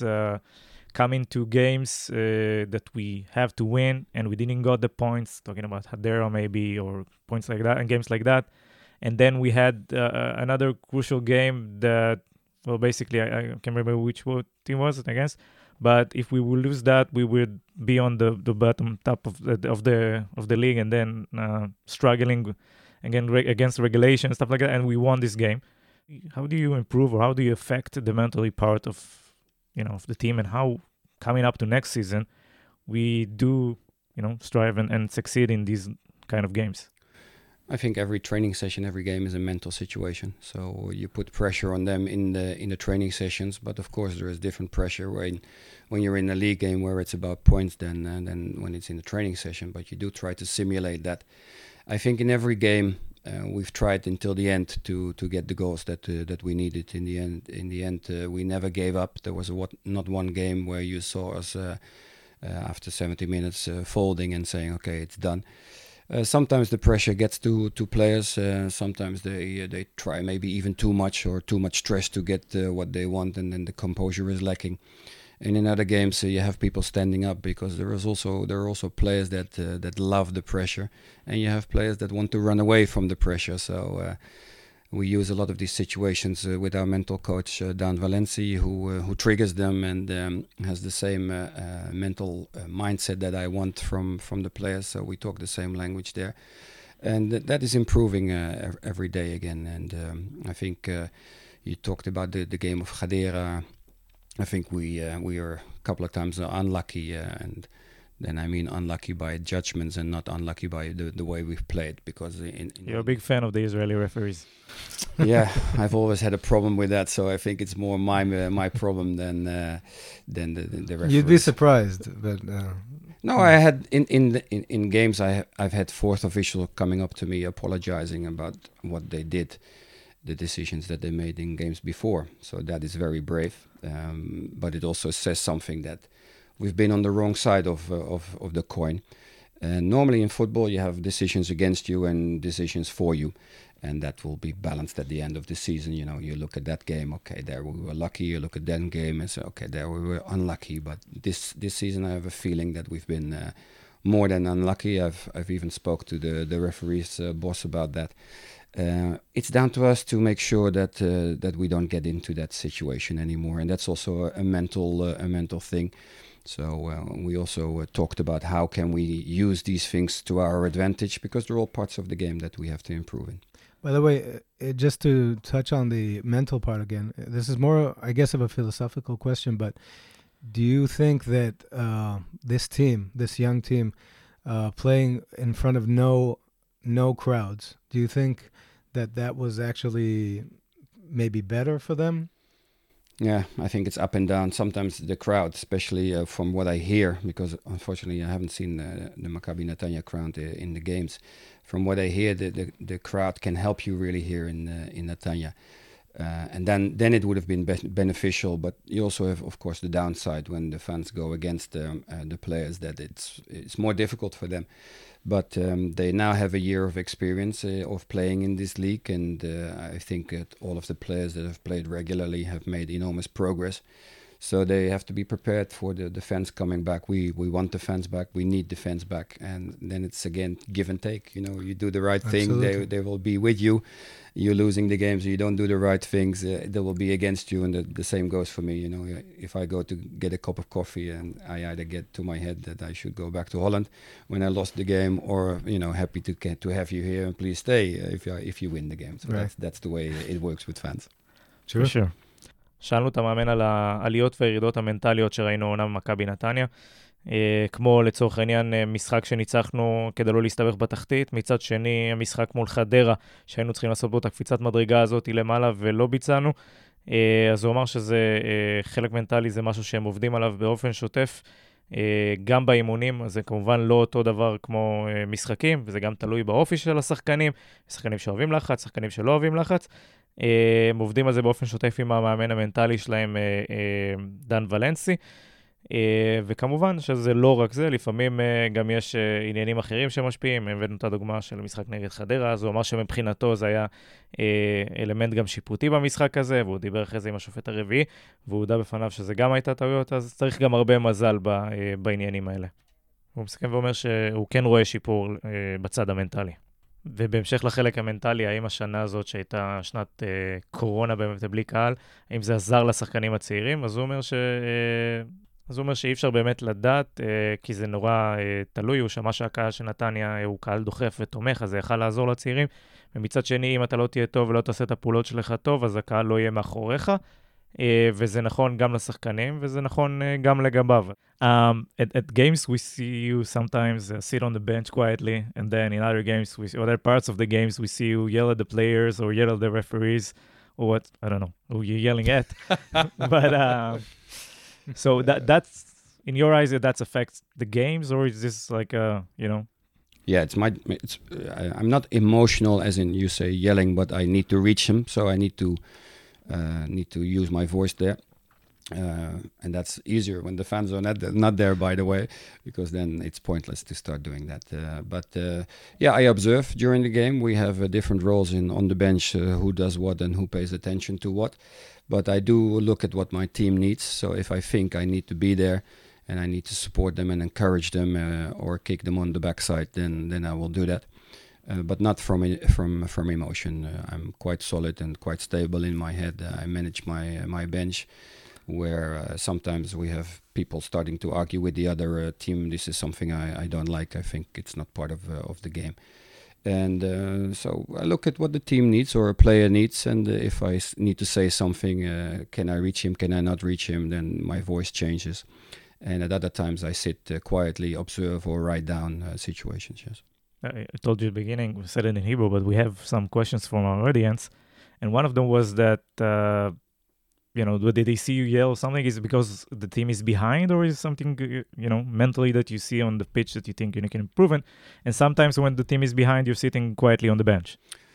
coming to games that we have to win and we didn't got the points, talking about Hadera maybe, or points like that, and games like that. And then we had another crucial game that, well, basically, I can't remember which team was it against, but if we would lose that, we would be on the bottom top of the league, and then struggling again against regulation and stuff like that, and we won this game. How do you improve, or how do you affect the mentally part of the team, and how coming up to next season we do strive and succeed in these kind of games? I think every training session, every game is a mental situation. So you put pressure on them in the training sessions, but of course there is different pressure when you're in a league game where it's about points than when it's in the training session. But you do try to simulate that. I think in every game we've tried until the end to get the goals that we needed. In the end, we never gave up. There was not one game where you saw us after 70 minutes folding and saying, okay, it's done. Sometimes the pressure gets to players. Sometimes they try maybe even too much or too much stress to get what they want, and then the composure is lacking. And in other games, you have people standing up, because there are also players that love the pressure, and you have players that want to run away from the pressure. So we use a lot of these situations with our mental coach Dan Valenci, who triggers them and has the same mental mindset that I want from the players. So we talk the same language there, and that is improving every day again. And I think you talked about the game of Hadera. I think we were a couple of times unlucky, and then I mean unlucky by judgments and not unlucky by the way we've played. Because you're a big fan of the Israeli referees. Yeah, I've always had a problem with that, so I think it's more my problem than the referees. You'd be surprised, but no, I had in games I've had fourth official coming up to me apologizing about what they did, the decisions that they made in games before. So that is very brave, but it also says something that we've been on the wrong side of the coin. And normally in football you have decisions against you and decisions for you, and that will be balanced at the end of the season. You look at that game, okay, there we were lucky. You look at that game and say, okay, there we were unlucky. But this season I have a feeling that we've been more than unlucky. I've even spoke to the referee's boss about that. It's down to us to make sure that we don't get into that situation anymore, and that's also a mental thing. So we also talked about how can we use these things to our advantage, because they're all parts of the game that we have to improve in. By the way, just to touch on the mental part again, this is more, I guess, of a philosophical question, but do you think that this young team, playing in front of no crowds, do you think that was actually maybe better for them? Yeah, I think it's up and down. Sometimes the crowd, especially from what I hear, because unfortunately I haven't seen the Maccabi Netanya crowd in the games. From what I hear, the crowd can help you really here in Netanya. And then it would have been beneficial, but you also have, of course, the downside when the fans go against the players, that it's more difficult for them. But they now have a year of experience of playing in this league, and I think that all of the players that have played regularly have made enormous progress. So they have to be prepared for the fans coming back. We want the fans back. We need the fans back. And then it's, again, give and take. You know, you do the right thing, they will be with you. You're losing the games, you don't do the right things, they will be against you. And the same goes for me. You know, if I go to get a cup of coffee and I either get to my head that I should go back to Holland when I lost the game, or, you know, happy to have you here and please stay if you win the game. So right. that's the way it works with fans. Sure. שאלנו את המאמן על העליות והירידות המנטליות שראינו עונה במכבי נתניה, כמו לצורך העניין משחק שניצחנו כדי לא להסתבך בתחתית, מצד שני המשחק מול חדרה שהיינו צריכים לעשות בו את הקפיצת מדרגה הזאת למעלה ולא ביצענו, אז הוא אמר שזה חלק מנטלי, זה משהו שהם עובדים עליו באופן שוטף, גם באימונים, אז זה כמובן לא אותו דבר כמו משחקים, וזה גם תלוי באופי של השחקנים, שחקנים שאוהבים לחץ, שחקנים שלא אוהבים לחץ, הם עובדים על זה באופן שוטף עם המאמן המנטלי שלהם, דן ולנסי, וכמובן שזה לא רק זה, לפעמים גם יש עניינים אחרים שמשפיעים. הבאנו את הדוגמה של משחק נגד חדרה, אז הוא אמר שמבחינתו זה היה אלמנט גם שיפוטי במשחק הזה, והוא דיבר אחרי זה עם השופט הרביעי, והוא הודע בפניו שזה גם הייתה טעויות, אז צריך גם הרבה מזל בעניינים האלה. הוא מסכם ואומר שהוא כן רואה שיפור בצד המנטלי. ובהמשך לחלק המנטלי, האם השנה הזאת שהייתה שנת קורונה באמת בלי קהל, האם זה עזר לשחקנים הצעירים? אז הוא אומר שאי אפשר באמת לדעת, כי זה נורא תלוי, הוא שמע שהקהל של נתניה הוא קהל דוחף ותומך, אז זה יכל לעזור לצעירים, ומצד שני, אם אתה לא תהיה טוב ולא תעשה את הפעולות שלך טוב, אז הקהל לא יהיה מאחוריך, וזה נכון גם לשחקנים, וזה נכון גם לגביו. At games we see you sometimes sit on the bench quietly, and then in other games, other parts of the games, we see you yell at the players or yell at the referees, or what, I don't know, who you're yelling at. But so that's, in your eyes, that affects the games, or is this like you know? Yeah, I'm not emotional as in you say yelling, but I need to reach him, so I need to use my voice there. And that's easier when the fans are not there, by the way, because then it's pointless to start doing that. But I observe during the game. We have different roles on the bench, who does what and who pays attention to what. But I do look at what my team needs. So if I think I need to be there and I need to support them and encourage them or kick them on the backside, then I will do that. But not from emotion. I'm quite solid and quite stable in my head. I manage my bench, where sometimes we have people starting to argue with the other team. This is something I don't like. I think it's not part of the game. And so I look at what the team needs or a player needs, and if I need to say something, can I reach him, can I not reach him, then my voice changes. And at other times I sit quietly, observe or write down situations, yes. I told you at the beginning, we said it in Hebrew, but we have some questions from our audience. And one of them was that, did they see you yell or something? Is it because the team is behind, or is it something, mentally that you see on the pitch that you think you can improve in? And sometimes when the team is behind, you're sitting quietly on the bench.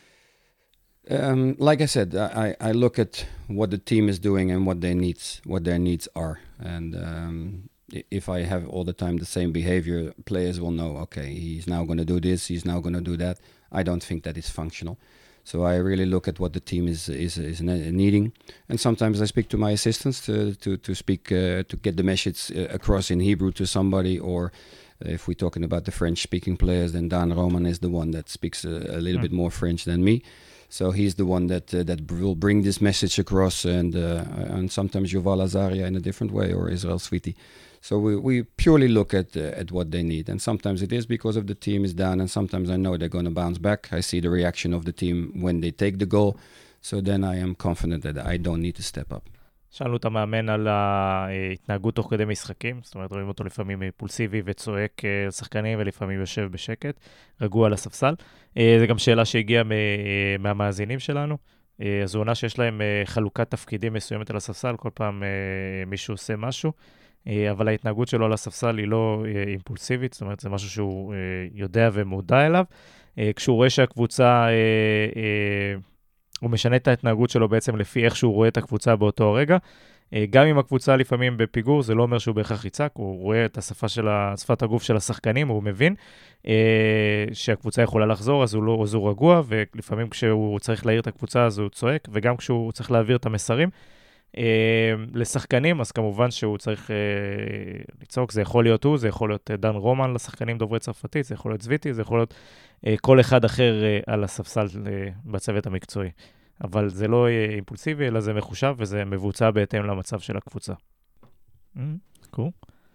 Like I said, I look at what the team is doing and what their needs are. And if I have all the time the same behavior, players will know, okay, he's now going to do this, he's now going to do that. I don't think that is functional. So I really look at what the team is needing. And sometimes I speak to my assistants to speak, to get the message across in Hebrew to somebody, or if we're talking about the French-speaking players, then Dan Roman is the one that speaks a little bit more French than me. So he's the one that will bring this message across, and sometimes Yuval Azaria in a different way, or Israel Sviti. So we purely look at what they need, and sometimes it is because of the team is down, and sometimes I know they're going to bounce back. I see the reaction of the team when they take the goal, so then I am confident that I don't need to step up. שאלנו את המאמן על ההתנהגות תוך כדי משחקים, זאת אומרת, רואים אותו לפעמים פולסיבי וצועק לשחקנים, ולפעמים יושב בשקט, רגוע על הספסל. זו גם שאלה שהגיעה מהמאזינים שלנו. אז הוא עונה שיש להם חלוקת תפקידים מסוימת על הספסל, כל פעם מישהו עושה משהו, אבל ההתנהגות שלו על הספסל היא לא אימפולסיבית, זאת אומרת, זה משהו שהוא יודע ומודע אליו. כשהוא רואה שהקבוצה הוא משנה את ההתנהגות שלו בעצם לפי איך שהוא רואה את הקבוצה באותו הרגע. גם אם הקבוצה לפעמים בפיגור, זה לא אומר שהוא בהכרח יצעק, הוא רואה את שפת הגוף של השחקנים, הוא מבין שהקבוצה יכולה לחזור, אז הוא רגוע, ולפעמים כשהוא צריך להעיר את הקבוצה, אז הוא צועק, וגם כשהוא צריך להעביר את המסרים לשחקנים, אז כמובן שהוא צריך לצעוק, זה יכול להיות הוא, זה יכול להיות דן רומן לשחקנים דוברי צרפתית, זה יכול להיות צביטי, זה יכול להיות כל אחד אחר על הספסל בצוות המקצועי. אבל זה לא אימפולסיבי, אלא זה מחושב, וזה מבוצע בהתאם למצב של הקבוצה. Cool.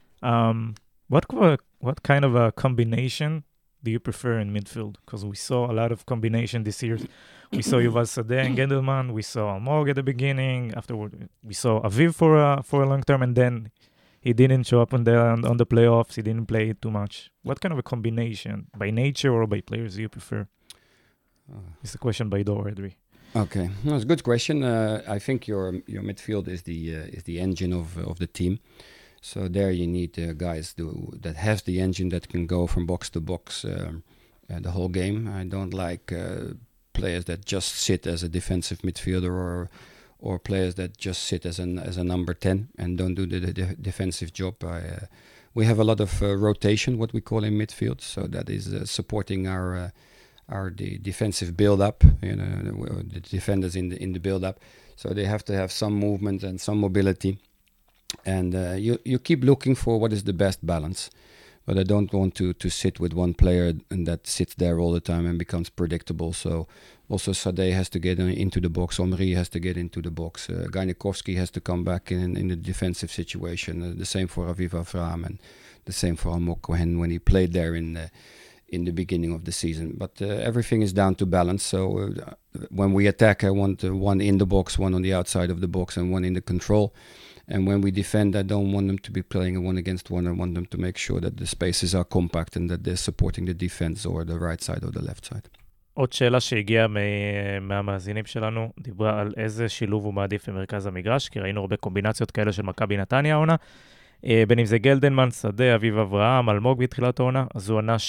What kind of a combination do you prefer in midfield? Because we saw a lot of combination this year. We saw Yuval Sadeh and Gendelman. We saw Almog at the beginning. Afterward, we saw Aviv for a long term, and then he didn't show up on the playoffs. He didn't play too much. What kind of a combination, by nature or by players, do you prefer? It's a question by Dor Edri. Okay, that's a good question. I think your midfield is the engine of the team. So there you need guys that have the engine that can go from box to box the whole game. I don't like players that just sit as a defensive midfielder or players that just sit as a number 10 and don't do the defensive job. We have a lot of rotation, what we call in midfield. So that is supporting the defensive build-up, the defenders in the build-up. So they have to have some movement and some mobility. And you keep looking for what is the best balance. But I don't want to sit with one player and that sits there all the time and becomes predictable. So also Sadeh has to get into the box. Omri has to get into the box. Gainikovsky has to come back in the defensive situation. The same for Aviv Avraham and the same for Almog Cohen when he played there in the beginning of the season. But everything is down to balance. So when we attack, I want one in the box, one on the outside of the box, and one in the control. And when we defend, I don't want them to be playing a one against one. I want them to make sure that the spaces are compact and that they're supporting the defense or the right side or the left side. עוד שאלה שהגיעה מהמאזינים שלנו, דיברה על איזה שילוב הוא מעדיף במרכז המגרש, כי ראינו הרבה קומבינציות כאלה של מכבי נתניה העונה, בין אם זה גלדנמן, שדה, אביב אברהם, אלמוג בתחילת העונה, אז הוא ענה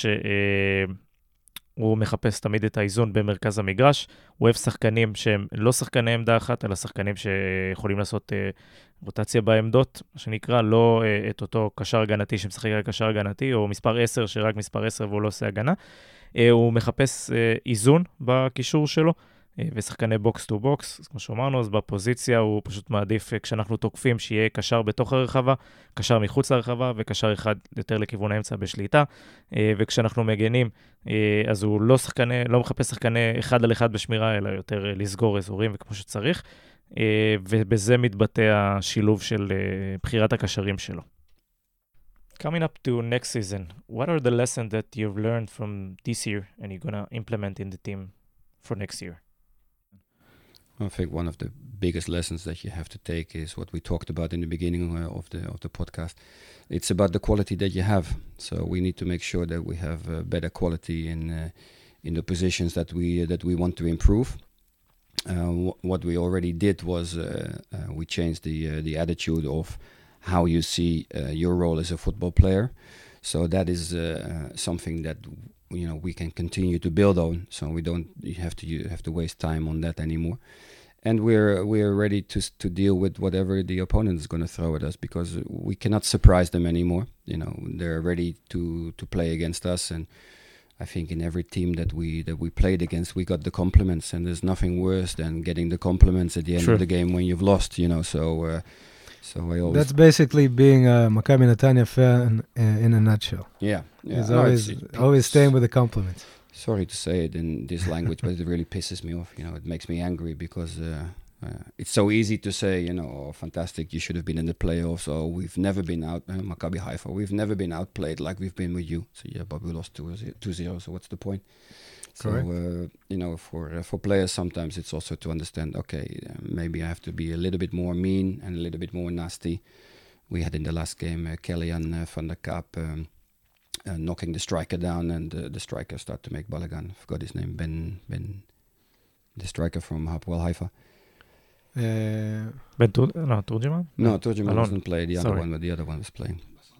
שהוא מחפש תמיד את האיזון במרכז המגרש, הוא אוהב שחקנים שהם לא שחקני עמדה אחת, אלא שחקנים שיכולים לעשות רוטציה בעמדות, מה שנקרא, לא את אותו קשר הגנתי שמשחק רק קשר הגנתי, או מספר 10 שרק מספר 10 והוא לא עושה הגנה. הוא מחפש איזון בקישור שלו, ושחקני בוקס טו בוקס, כמו שאמרנו, אז בפוזיציה הוא פשוט מעדיף כשאנחנו תוקפים שיהיה קשר בתוך הרחבה, קשר מחוץ לרחבה, וקשר אחד יותר לכיוון האמצע בשליטה, וכשאנחנו מגנים, אז הוא לא מחפש שחקני אחד על אחד בשמירה, אלא יותר לסגור אזורים וכמו שצריך, ובזה מתבטא השילוב של בחירת הקשרים שלו. Coming up to next season, what are the lessons that you've learned from this year and you're going to implement in the team for next year? I think one of the biggest lessons that you have to take is what we talked about in the beginning of the podcast. It's about the quality that you have. So we need to make sure that we have better quality in the positions that we want to improve. What we already did was we changed the attitude of how you see your role as a football player. So that is something that we can continue to build on. So we don't have to waste time on that anymore. And we're ready to deal with whatever the opponent is going to throw at us because we cannot surprise them anymore. They're ready to play against us. And I think in every team that we played against, we got the compliments. And there's nothing worse than getting the compliments at the end of the game when you've lost. So I always... That's basically being a Maccabi Netanya fan in a nutshell. Yeah. It's always staying with the compliments. Sorry to say it in this language, but it really pisses me off. It makes me angry because it's so easy to say, oh, fantastic, you should have been in the playoffs, or we've never been out, Maccabi Haifa, we've never been outplayed like we've been with you. So yeah, but we lost 2-0, so what's the point? Correct. So, for players, sometimes it's also to understand, okay, maybe I have to be a little bit more mean and a little bit more nasty. We had in the last game Kellyan van der Kaap knocking the striker down, and the striker started to make balagan. I forgot his name, Ben, the striker from Hapoel Haifa. Turjiman? No, Turjiman doesn't play. The other one was playing.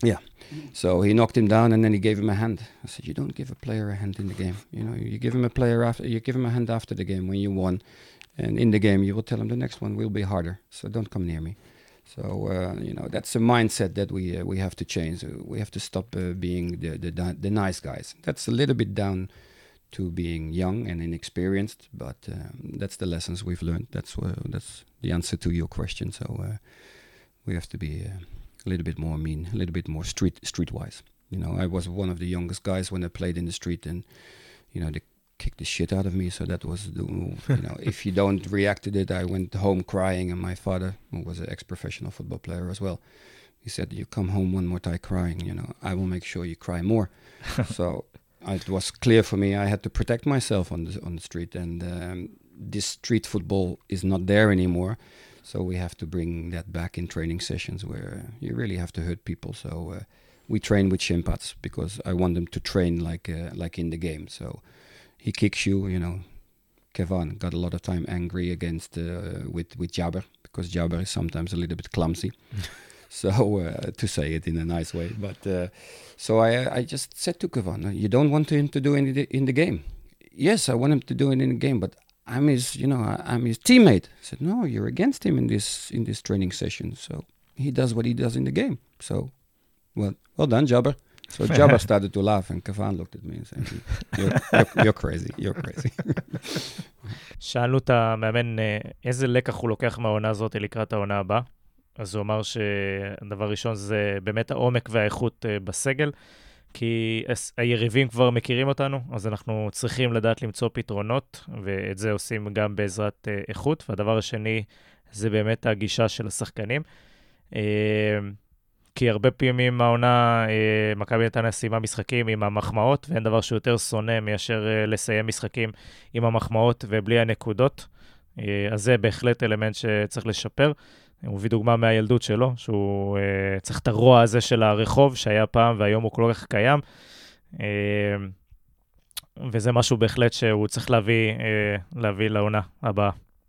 Yeah. So he knocked him down, and then he gave him a hand. I said, you don't give a player a hand in the game. You give him you give him a hand after the game when you won. And in the game, you will tell him the next one will be harder. So don't come near me. So, that's a mindset that we have to change. We have to stop being the nice guys. That's a little bit down to being young and inexperienced, but that's the lessons we've learned. That's the answer to your question. So we have to be a little bit more mean, a little bit more streetwise. I was one of the youngest guys when I played in the street, and they kicked the shit out of me. So that was if you don't react to it, I went home crying, and my father, who was an ex-professional football player as well, he said, you come home one more time crying, I will make sure you cry more. So it was clear for me I had to protect myself on the street, and this street football is not there anymore. So we have to bring that back in training sessions where you really have to hurt people. So we train with shin pads because I want them to train like in the game. So he kicks you, Kevan got a lot of time angry against with Jabber, because Jabber is sometimes a little bit clumsy. So to say it in a nice way. But so I just said to Kevan, you don't want him to do it in the game. Yes, I want him to do it in the game, but I'm his teammate. I said, no, you're against him in this training session. So he does what he does in the game. So, well done, Jabber. So Jabber started to laugh, and Kevan looked at me and said, you're crazy, you're crazy. שאלנו את המאמן איזה לקח הוא לוקח מהעונה הזאת לקראת העונה הבאה. אז הוא אמר שהדבר ראשון זה באמת העומק והאיכות בסגל, כי היריבים כבר מכירים אותנו, אז אנחנו צריכים לדעת למצוא פתרונות, ואת זה עושים גם בעזרת איכות. והדבר השני זה באמת הגישה של השחקנים. כי הרבה פעמים העונה, מכבי נתניה סיימה משחקים עם המחמאות, ואין דבר שיותר שונא מאשר לסיים משחקים עם המחמאות ובלי הנקודות. אז זה בהחלט אלמנט שצריך לשפר. הוא מביא דוגמה מהילדות שלו, שהוא צריך את הרוע הזה של הרחוב שהיה פעם, והיום הוא כל כך קיים. וזה משהו בהחלט שהוא צריך להביא לעונה הבאה.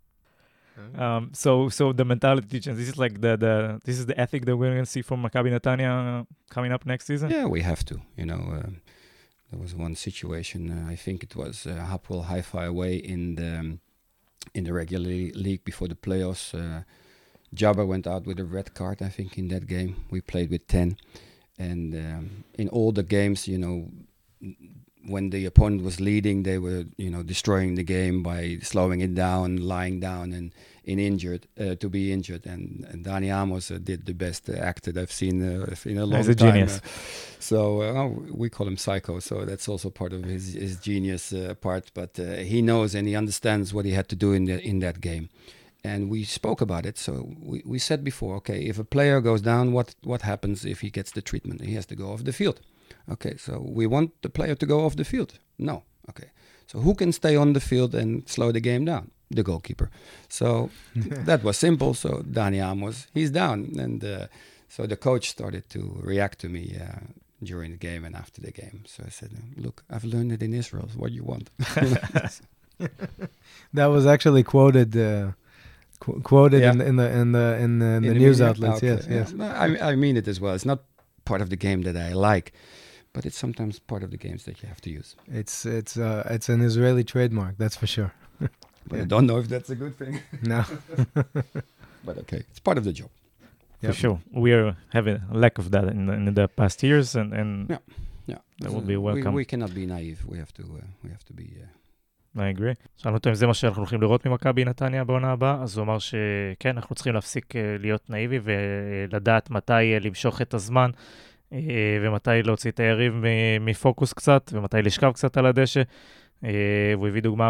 So the mentality change, this is like this is the ethic that we're going to see from Maccabi Netanya coming up next season? Yeah, we have to. There was one situation, I think it was Hapoel Haifa away in the regular league before the playoffs. Jabber went out with a red card, I think, in that game. We played with 10. And in all the games, when the opponent was leading, they were, destroying the game by slowing it down, lying down, and to be injured. And Dani Amos did the best act that I've seen in a long time. He's a genius. We call him Psycho, so that's also part of his genius part. But he knows and he understands what he had to do in that game. And we spoke about it. So we said before, okay, if a player goes down, what happens if he gets the treatment? He has to go off the field. Okay, so we want the player to go off the field? No. Okay, so who can stay on the field and slow the game down? The goalkeeper. So that was simple. So Dani Amos, he's down. And so the coach started to react to me during the game and after the game. So I said, look, I've learned it in Israel. What do you want? That was actually quoted in the news outlets. Yes. I mean it as well. It's not part of the game that I like, but it's sometimes part of the games that you have to use. It's an Israeli trademark, that's for sure. But I don't know if that's a good thing. No. But okay, it's part of the job. For sure. We are having a lack of that in the past years, and that will be welcome. We cannot be naive. We have to be... I agree. שאלנו אותו אם זה מה שאנחנו הולכים לראות ממכבי נתניה בעונה הבאה, אז הוא אמר שכן, אנחנו צריכים להפסיק להיות נאיבי ולדעת מתי למשוך את הזמן, ומתי להוציא את היריב מפוקוס קצת, ומתי לשכב קצת על הדשא. והוא הביא דוגמה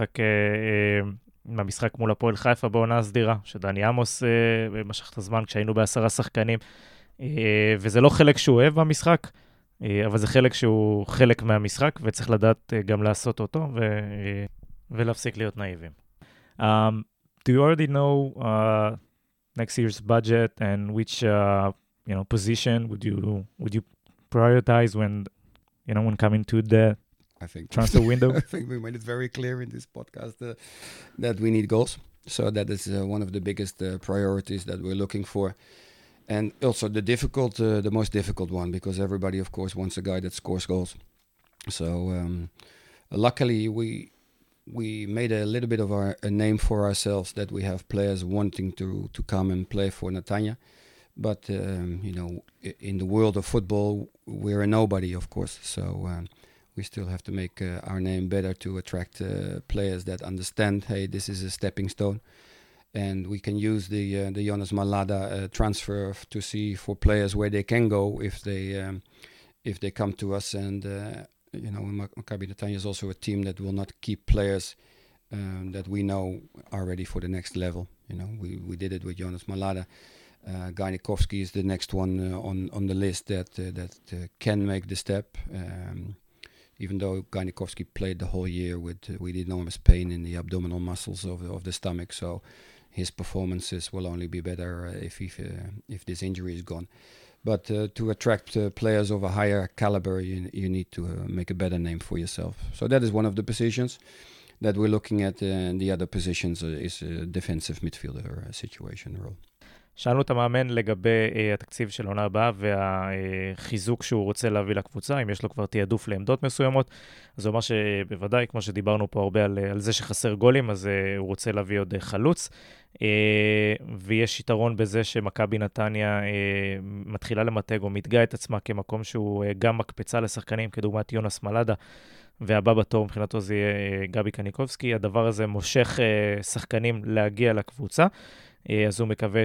מהמשחק מול הפועל חיפה בעונה הסדירה, שדני עמוס משך את הזמן כשהיינו ב10 שחקנים, וזה לא חלק שהוא אוהב במשחק, אבל זה חלק שהוא חלק מהמשחק, וצריך לדעת גם לעשות אותו, ולהפסיק להיות נאיבים. Do you already know next year's budget and which position would you prioritize when coming to the transfer window? I think we made it very clear in this podcast that we need goals. So that is one of the biggest priorities that we're looking for. And also the most difficult one, because everybody, of course, wants a guy that scores goals. So luckily, we made a little bit of a name for ourselves, that we have players wanting to come and play for Netanya. But in the world of football, we're a nobody, of course. So we still have to make our name better to attract players that understand, hey, this is a stepping stone. And we can use the Jonas Malada transfer to see for players where they can go if they come to us. And Maccabi Netanya is also a team that will not keep players that we know are ready for the next level. We did it with Jonas Malada. Garnikovsky is the next one on the list that can make the step. Even though Garnikovsky played the whole year with enormous pain in the abdominal muscles of the stomach, so his performances will only be better if this injury is gone. But to attract players of a higher caliber, you need to make a better name for yourself. So that is one of the positions that we're looking at, and the other positions is a defensive midfielder situation role. שאלנו את המאמן לגבי התקציב של עונה הבאה והחיזוק שהוא רוצה להביא לקבוצה, אם יש לו כבר תיעדוף לעמדות מסוימות. אז הוא אמר שבוודאי, כמו שדיברנו פה הרבה על זה שחסר גולים, אז הוא רוצה להביא עוד חלוץ. ויש יתרון בזה שמכבי נתניה מתחילה למתג או מתגאה את עצמה כמקום שהוא גם מקפצה לשחקנים, כדוגמת יונס מלאדה, והבא בתור מבחינתו זה יהיה גבי קניקובסקי. הדבר הזה מושך שחקנים להגיע לקבוצה. אז הוא מקווה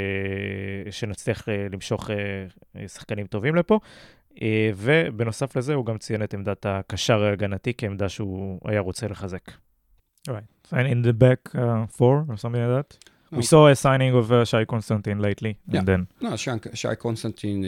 שנצליח למשוך שחקנים טובים לפה. ובנוסף לזה הוא גם ציין את עמדת הקשר ההגנתי כעמדה שהוא היה רוצה לחזק. Right. And in the back four or something like that? No. We saw a signing of Shai Constantine lately. Yeah. And then... No, Shai Constantine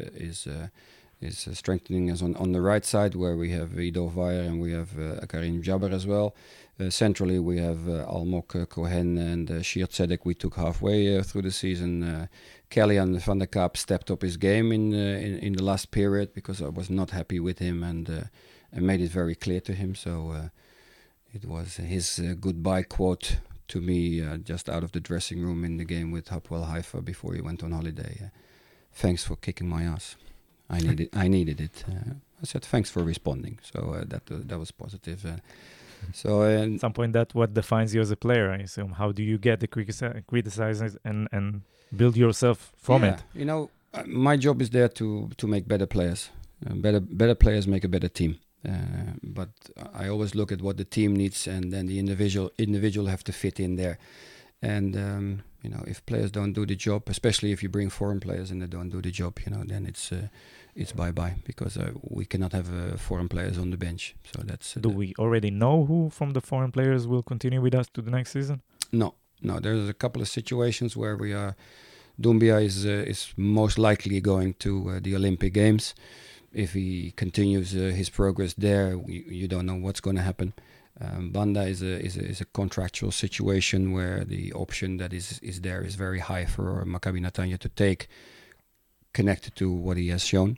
is strengthening us on the right side, where we have Ido Vayer and we have Karim Jabber as well. Centrally, we have Almok Cohen and Shir Tzedek. We took halfway through the season. Kellyan van der Kaap stepped up his game in the last period, because I was not happy with him, and made it very clear to him. So it was his goodbye quote to me just out of the dressing room in the game with Hapoel Haifa before he went on holiday. Thanks for kicking my ass. I needed it. I said thanks for responding. So that was positive. So at some point, that's what defines you as a player, I assume. How do you get the criticized and build yourself from it? My job is there to make better players. Better players make a better team. But I always look at what the team needs, and then the individual have to fit in there. And if players don't do the job, especially if you bring foreign players and they don't do the job, then it's bye-bye, because we cannot have foreign players on the bench. So that's. Do we already know who from the foreign players will continue with us to the next season? No. There's a couple of situations where we are. Doumbia is most likely going to the Olympic Games. If he continues his progress there, you don't know what's going to happen. Banda is a contractual situation where the option that is there is very high for Maccabi Netanya to take, connected to what he has shown.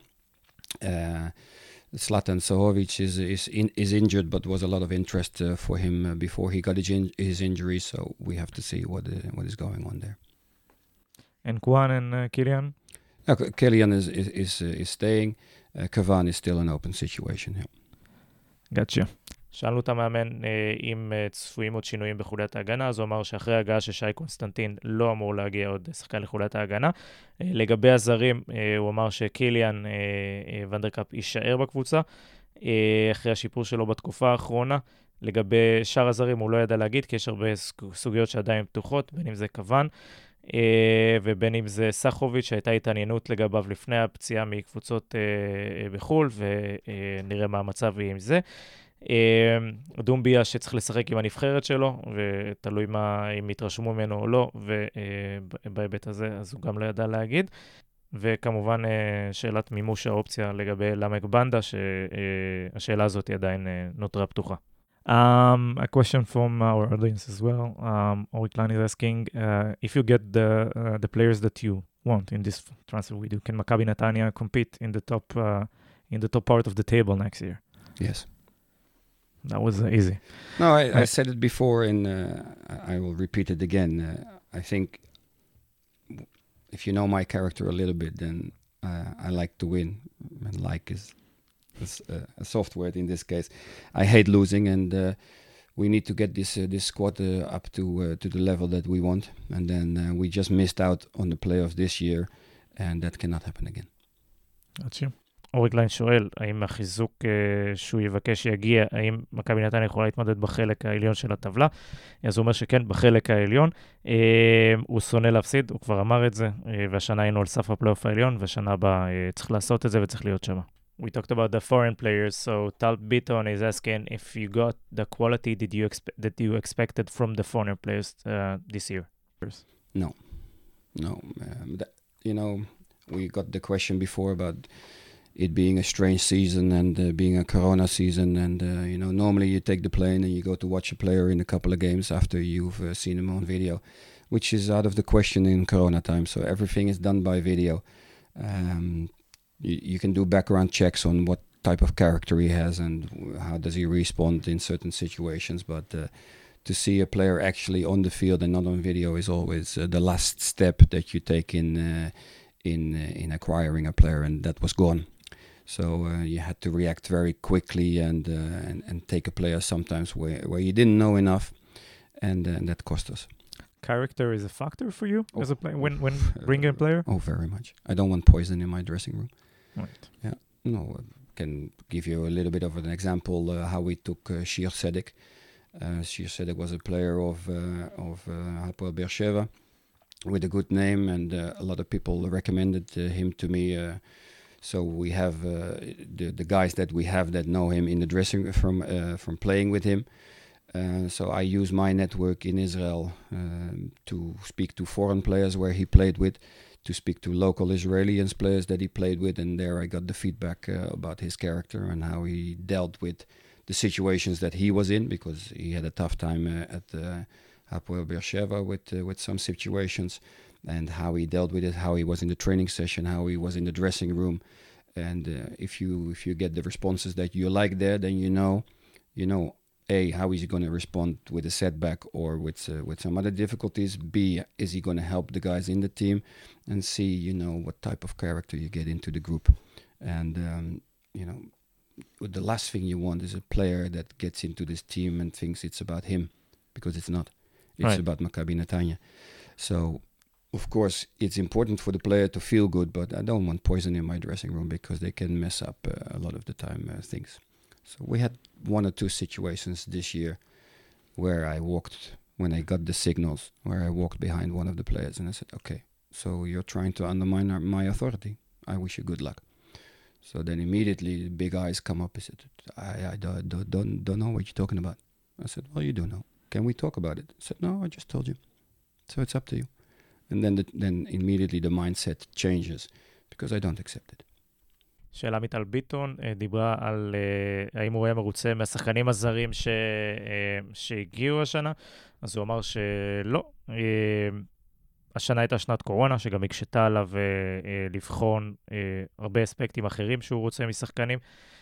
Zlatan Sahovic is injured, but was a lot of interest for him before he got his injury. So we have to see what is going on there. And Kwan and Kylian? Kylian is staying. Kavan is still an open situation. Yeah. Gotcha. שאלנו את המאמן אם צפויים עוד שינויים בחוליית ההגנה, אז הוא אמר שאחרי ההגעה של שי קונסטנטין לא אמור להגיע עוד שחקן לחוליית ההגנה. לגבי הזרים, הוא אמר שקיליאן ונדרקאפ יישאר בקבוצה, אחרי השיפור שלו בתקופה האחרונה. לגבי שאר הזרים הוא לא ידע להגיד, כי יש הרבה סוגיות שעדיין פתוחות, בין אם זה כוון, ובין אם זה סחוביץ' שהייתה התעניינות לגביו לפני הפציעה מקבוצות בחול, ונראה מה המצב עם זה. דומביה שצריך לשחק עם הנבחרת שלו, ותלוי אם יתרשמו ממנו או לא, ובהיבט הזה אז הוא גם לא ידע להגיד. וכמובן שאלת מימוש האופציה לגבי למק בנדה, שהשאלה הזאת עדיין נותרה פתוחה. A question from our audience as well. Oriklan is asking if you get the players that you want in this transfer window, can Maccabi Netanya compete in the top part of the table next year? Yes. That was easy. No, I said it before, and I will repeat it again. I think if you know my character a little bit, then I like to win, and like is a soft word in this case. I hate losing, and we need to get this squad up to the level that we want, and then we just missed out on the playoffs this year, and that cannot happen again. עד אורי קליין שואל, האם החיזוק שהוא יבקש יגיע, האם מכבי נתניה יכולה להתמודד בחלק העליון של הטבלה? אז הוא אומר שכן, בחלק העליון. הוא שונא להפסיד, הוא כבר אמר את זה, והשנה היינו על סף הפלייאוף העליון, והשנה הבאה צריך לעשות את זה וצריך להיות שם. We talked about the foreign players, so Tal Bitton is asking if you got the quality that you expected from the foreign players this year. No. We got the question before about it being a strange season and being a corona season, and normally you take the plane and you go to watch a player in a couple of games after you've seen him on video, which is out of the question in corona time. So everything is done by video. You can do background checks on what type of character he has and how does he respond in certain situations, but to see a player actually on the field and not on video is always the last step that you take in acquiring a player, and that was gone. So you had to react very quickly and take a player sometimes where you didn't know enough, and that cost us. Character is a factor for you as a player when bringing a player? Oh, very much. I don't want poison in my dressing room. Right. Yeah. No, I can give you a little bit of an example how we took Shir Sedek. Shir Sedek was a player of Hapoel Be'er Sheva with a good name, and a lot of people recommended him to me. So we have the guys that we have that know him in the dressing room from playing with him. So I use my network in Israel to speak to foreign players where he played with, to speak to local Israeli players that he played with, and there I got the feedback about his character and how he dealt with the situations that he was in, because he had a tough time at Hapoel Be'er Sheva with some situations, and how he dealt with it, how he was in the training session, how he was in the dressing room. And if you get the responses that you like there, then you know A, how is he going to respond with a setback or with some other difficulties? B, is he going to help the guys in the team? And C, what type of character you get into the group. And, the last thing you want is a player that gets into this team and thinks it's about him, because it's not. It's about Maccabi Netanya. So, of course, it's important for the player to feel good, but I don't want poison in my dressing room, because they can mess up a lot of the time things. So we had one or two situations this year where I walked, when I got the signals, where I walked behind one of the players and I said, okay, so you're trying to undermine my authority. I wish you good luck. So then immediately the big eyes come up and said, I don't know what you're talking about. I said, well, you do know. Can we talk about it? I said, no, I just told you. So it's up to you. And then immediately the mindset changes, because I don't accept it. שאלה מטל ביטון דיברה על האם הוא היה מרוצה מהשחקנים הזרים שהגיעו השנה, אז הוא אמר שלא. השנה הייתה שנת קורונה, שגם הקשתה עליו לבחון הרבה אספקטים אחרים שהוא רוצה משחקנים,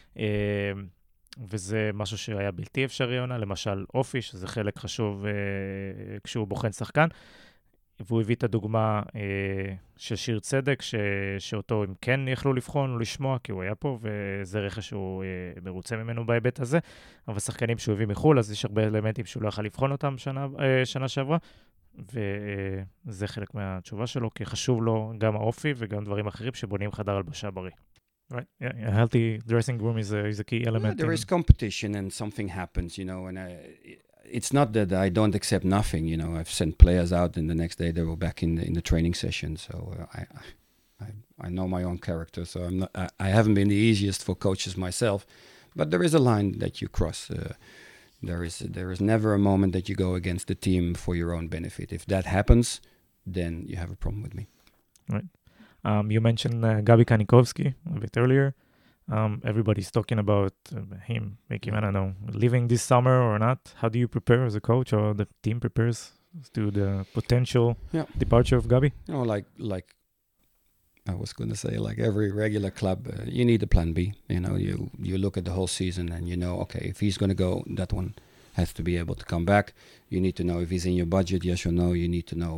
וזה משהו שהיה בלתי אפשרי עונה, למשל אופי, שזה חלק חשוב כשהוא בוחן שחקן, והוא הביא את הדוגמה של שיר צדק, שאותו הם כן יכלו לבחון או לשמוע, כי הוא היה פה, וזה רכש שהוא מרוצה ממנו בהיבט הזה. אבל שחקנים שהוא הביא מחול, אז יש הרבה אלמנטים שהוא לא יכול לבחון אותם שנה שעברה, וזה חלק מהתשובה שלו, כי חשוב לו גם האופי וגם דברים אחרים שבונים חדר הלבשה בריא. Right. Yeah, a healthy dressing room is a key element. Yeah, there is competition and something happens, and it's not that I don't accept nothing. I've sent players out and the next day they were back in the training session. So I know my own character. So I haven't been the easiest for coaches myself, but there is a line that you cross. There is never a moment that you go against the team for your own benefit. If that happens, then you have a problem with me. Right. You mentioned Gabi Kanikovsky a bit earlier. Everybody's talking about him, I don't know, leaving this summer or not. How do you prepare as a coach, or the team prepares to the potential departure of Gabi? Like I was going to say, like every regular club, you need a plan B. You look at the whole season and okay, if he's going to go, that one has to be able to come back. You need to know if he's in your budget, yes or no. You need to know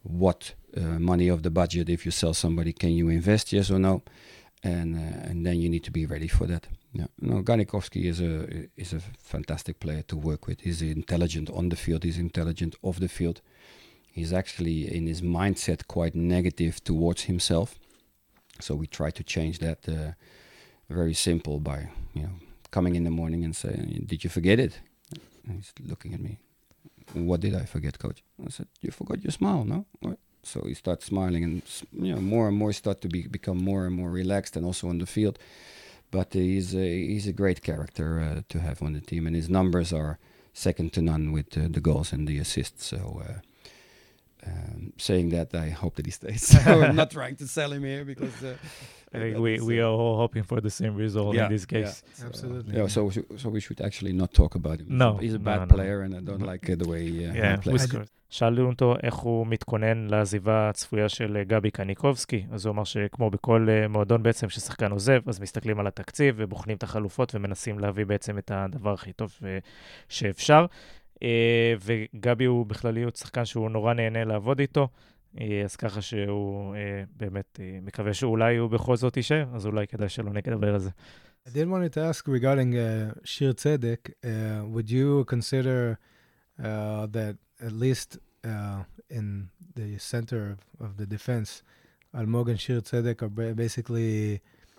what money of the budget, if you sell somebody, can you invest, yes or no? And then you need to be ready for that. Yeah, no, Ganikovsky is a fantastic player to work with. He's intelligent on the field. He's intelligent off the field. He's actually in his mindset quite negative towards himself. So we try to change that. Very simple by coming in the morning and saying, "Did you forget it?" And he's looking at me. "What did I forget, coach?" I said, "You forgot your smile, no?" What? So he starts smiling, and more and more start to become more and more relaxed, and also on the field. But he's a great character to have on the team, and his numbers are second to none with the goals and the assists. So saying that, I hope that he stays. So I'm not trying to sell him here because I think we are all hoping for the same result in this case. Yeah, absolutely. Yeah, so we should actually not talk about him. No, he's a bad no. player, and I don't like the way he plays. plays. שאלו אותו איך הוא מתכונן לעזיבה הצפויה של גבי קניקובסקי, אז הוא אמר שכמו בכל מועדון בעצם ששחקן עוזב, אז מסתכלים על התקציב ובוחנים את החלופות ומנסים להביא בעצם את הדבר הכי טוב שאפשר. וגבי הוא בכלליות שחקן שהוא נורא נהנה לעבוד איתו, אז ככה שהוא באמת מקווה שאולי הוא בכל זאת יישאר, אז אולי כדאי שלא נדבר על זה. I did want to ask regarding Shir Tzedek, would you consider that at least in the center of the defense, Almog and Shir Tzedek are basically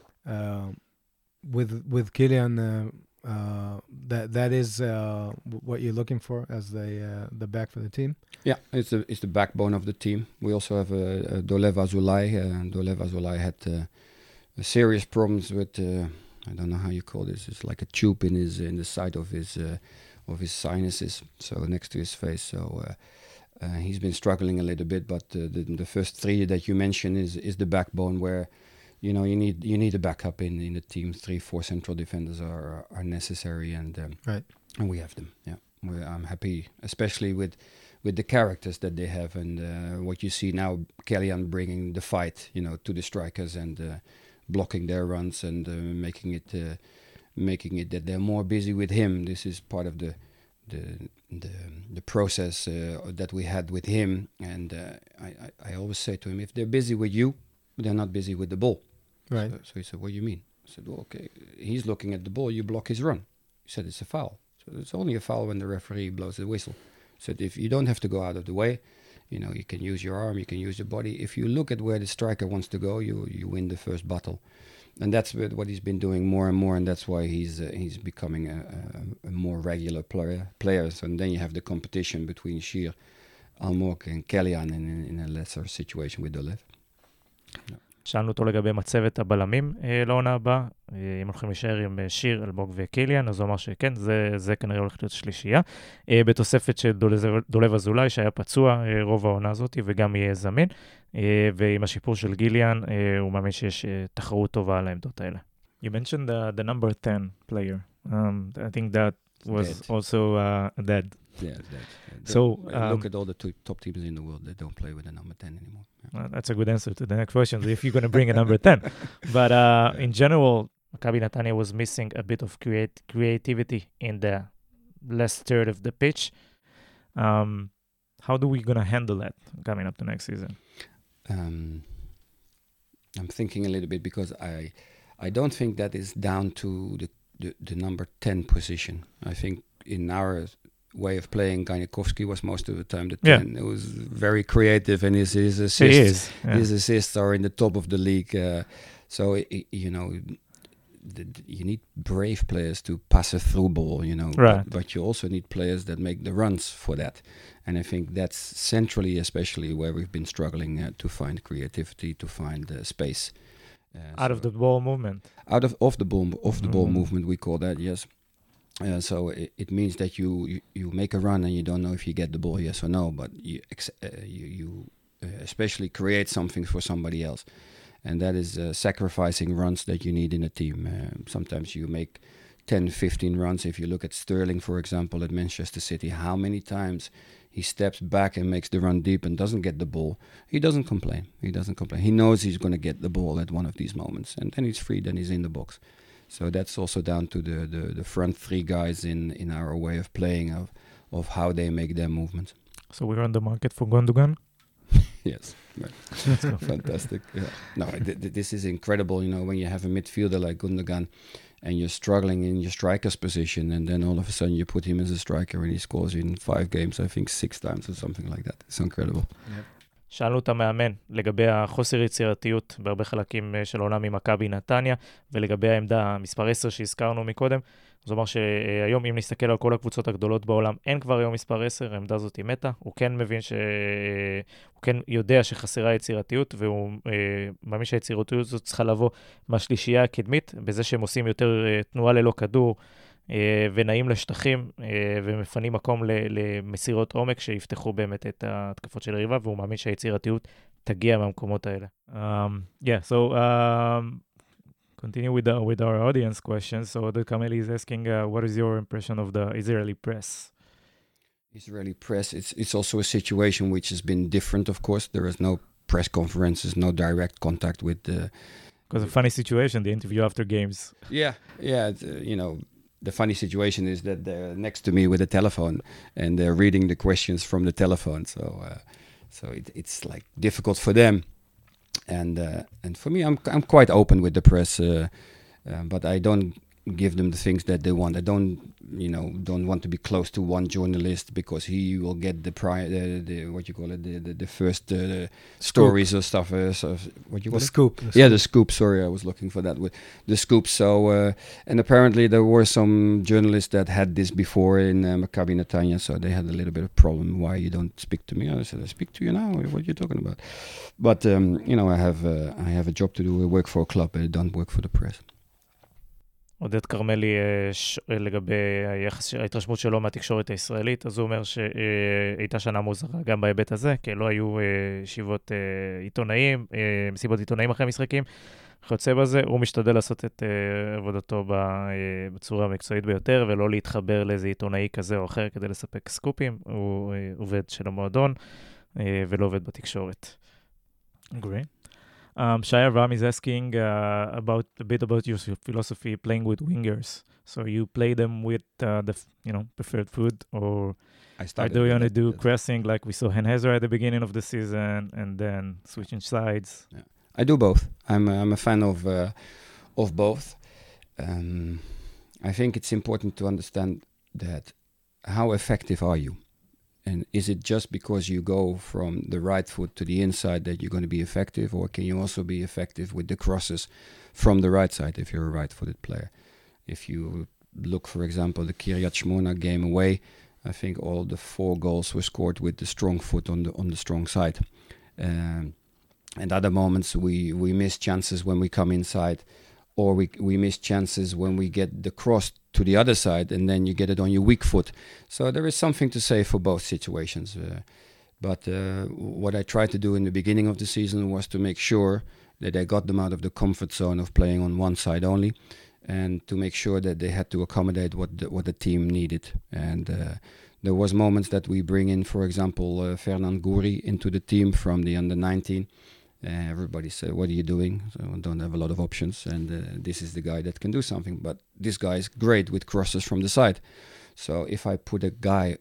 with Kylian, that is what you're looking for as the back for the team? Yeah, it's the backbone of the team. We also have Dolev Azulay. Dolev Azulay had serious problems with I don't know how you call this. It's like a tube in the side of his sinuses, so next to his face. So he's been struggling a little bit. But the first three that you mentioned is the backbone where you need a backup in the team. 3-4 central defenders are necessary, and right. And we have them. Yeah, I'm happy, especially with the characters that they have, and what you see now, Kellyan bringing the fight, to the strikers and blocking their runs and making it that they're more busy with him. This is part of the process that we had with him, and I always say to him, if they're busy with you, they're not busy with the ball. Right. So he said, "What do you mean?" I said, "Well, okay, he's looking at the ball, you block his run." He said, "It's a foul." So it's only a foul when the referee blows the whistle. So if you don't have to go out of the way, you can use your arm, you can use your body. If you look at where the striker wants to go, you win the first battle. And that's what he's been doing more and more, and that's why he's becoming a more regular player. So, and then you have the competition between Shir, Almog and Kellyan in a lesser situation with Dolev. No. שאלנו אותו לגבי מצבת הבלמים לעונה הבאה, אם הולכים להישאר עם שיר, אלמוג וקיליאן, אז הוא אמר שכן, זה כנראה הולך להיות שלישייה. בתוספת של דולב אזולאי, שהיה פצוע רוב העונה הזאת, וגם יהיה זמין, ועם השיפור של גיליאן, הוא מאמין שיש תחרות טובה על העמדות האלה. You mentioned the number 10 player. I think that was dead. Also dead. Yeah, dead. So look at all the top teams in the world that don't play with the number 10 anymore. Yeah. That's a good answer to the next question, if you're going to bring a number 10. But in general, Maccabi Netanya was missing a bit of creativity in the last third of the pitch. How do we going to handle that coming up to next season? I'm thinking a little bit because I don't think that is down to the number 10 position. I think in our way of playing, Ganikovsky was most of the time the 10. Yeah. It was very creative, and his assists are in the top of the league. So you need brave players to pass a through ball, Right. But you also need players that make the runs for that. And I think that's centrally, especially where we've been struggling to find creativity, to find space. Out of the ball movement. Out of the ball movement, we call that, yes. So it means that you make a run and you don't know if you get the ball, yes or no, but you especially create something for somebody else. And that is sacrificing runs that you need in a team. Sometimes you make 10, 15 runs. If you look at Sterling, for example, at Manchester City, how many times he steps back and makes the run deep and doesn't get the ball. He doesn't complain. He knows he's going to get the ball at one of these moments. And then he's free, then he's in the box. So that's also down to the front three guys in our way of playing, of how they make their movements. So we're on the market for Gundogan? Yes. Fantastic. Yeah. No, this is incredible, when you have a midfielder like Gundogan and you're struggling in your striker's position, and then all of a sudden you put him as a striker and he scores in 5 games, I think 6 times or something like that. It's incredible. Yep. שאלנו את המאמן לגבי החוסר יצירתיות בהרבה חלקים של העולם ממכבי נתניה, ולגבי העמדה מספר 10 שהזכרנו מקודם. זאת אומרת שהיום אם נסתכל על כל הקבוצות הגדולות בעולם, אין כבר היום מספר 10, העמדה הזאת היא מתה. הוא כן מבין הוא כן יודע שחסרה יצירתיות, והוא מאמין שהיצירתיות הזאת צריכה לבוא מהשלישייה הקדמית, בזה שהם עושים יותר תנועה ללא כדור, ונעים לשטחים, ומפנים מקום למסירות עומק שיפתחו באמת את ההתקפות של הריבה, והוא מאמין שהיצירתיות תגיע מהמקומות האלה. Yeah, so continue with our audience questions. So Oded Kameli is asking, what is your impression of the Israeli press? Israeli press, it's also a situation which has been different, of course. There is no press conferences, no direct contact with the... Because a funny situation, the interview after games. Yeah, the funny situation is that they're next to me with a telephone and they're reading the questions from the telephone. So it's like difficult for them. And for me, I'm quite open with the press, but I don't give them the things that they want. I don't want to be close to one journalist because he will get the first stories or stuff. What you call it? Scoop. The scoop. Sorry, I was looking for that with the scoop. So and apparently there were some journalists that had this before in Maccabi Netanya, so they had a little bit of problem. Why you don't speak to me? I said, I speak to you now. What are you talking about? But I have a job to do. I work for a club. I don't work for the press. עודד קרמלי לגבי ההתרשמות שלו מהתקשורת הישראלית, אז הוא אומר שהייתה שנה מוזרה גם בהיבט הזה, כי לא היו ישיבות עיתונאים, מסיבות עיתונאים אחרי משחקים, חוצה בזה, הוא משתדל לעשות את עבודתו בצורה המקצועית ביותר, ולא להתחבר לאיזה עיתונאי כזה או אחר כדי לספק סקופים, הוא עובד של המועדון ולא עובד בתקשורת. Great. Shaya Ram is asking a bit about your philosophy playing with wingers. So you play them with the preferred foot, or do you want to do crossing like we saw Hen-Hezer at the beginning of the season, and then switching sides? Yeah. I do both. I'm a fan of both. I think it's important to understand that how effective are you? And is it just because you go from the right foot to the inside that you're going to be effective, or can you also be effective with the crosses from the right side if you're a right-footed player? If you look, for example, the Kiryat Shmona game away, I think all the 4 goals were scored with the strong foot on the strong side. And other moments we miss chances when we come inside, or we miss chances when we get the cross to the other side and then you get it on your weak foot. So there is something to say for both situations. But what I tried to do in the beginning of the season was to make sure that I got them out of the comfort zone of playing on one side only, and to make sure that they had to accommodate what the team needed. And there was moments that we bring in, for example, Fernand Gouri into the team from the under-19. Everybody said, what are you doing? So I don't have a lot of options, and this is the guy that can do something. But this guy is great with crosses from the side. So if I put a guy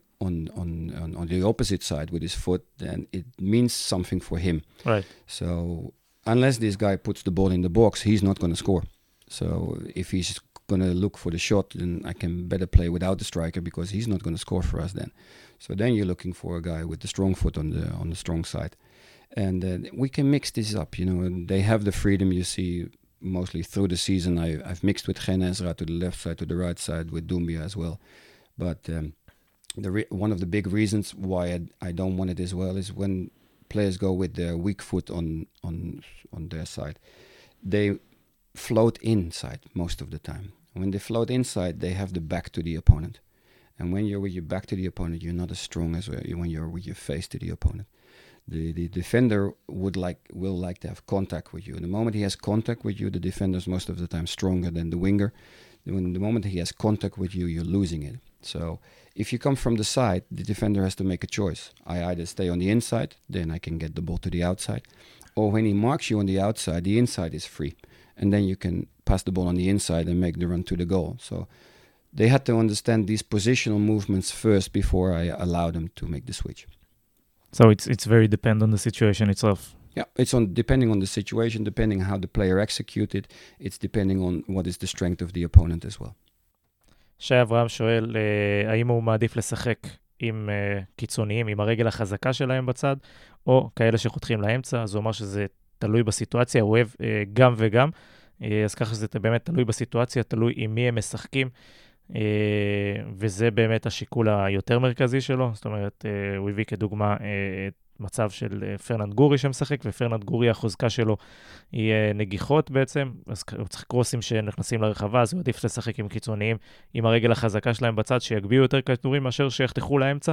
on the opposite side with his foot, then it means something for him. Right. So unless this guy puts the ball in the box, he's not going to score. So if he's going to look for the shot, then I can better play without the striker, because he's not going to score for us then. So then you're looking for a guy with the strong foot on the strong side. And we can mix this up, and they have the freedom. You see, mostly through the season, I've mixed with Gen-Ezra to the left side, to the right side, with Doumbia as well. But one of the big reasons why I don't want it as well is when players go with their weak foot on their side, they float inside most of the time. When they float inside, they have the back to the opponent. And when you're with your back to the opponent, you're not as strong as when you're with your face to the opponent. The defender will like to have contact with you. And the moment he has contact with you, the defender is most of the time stronger than the winger. When the moment he has contact with you, you're losing it. So if you come from the side, the defender has to make a choice. I either stay on the inside, then I can get the ball to the outside. Or when he marks you on the outside, the inside is free. And then you can pass the ball on the inside and make the run to the goal. So they had to understand these positional movements first before I allow them to make the switch. So it's very dependent on the situation itself. Yeah, it's depending on the situation, depending how the player executed. It's depending on what is the strength of the opponent as well. שי אברהם שואל, האם הוא מעדיף לשחק עם קיצוניים, עם הרגל החזקה שלהם בצד, או כאלה שחותכים לאמצע, אז הוא אומר שזה תלוי בסיטואציה, הוא אוהב גם וגם, אז ככה שזה באמת תלוי בסיטואציה, תלוי עם מי הם משחקים, וזה באמת השיקול היותר מרכזי שלו, זאת אומרת, הוא הביא כדוגמה מצב של פרננד גורי שמשחק, ופרננד גורי החוזקה שלו היא נגיחות בעצם, אז הוא צריך קרוסים שנכנסים לרחבה, אז הוא עדיף לשחק עם קיצוניים, עם הרגל החזקה שלהם בצד, שיגביעו יותר כדורים מאשר שיחתכו לאמצע,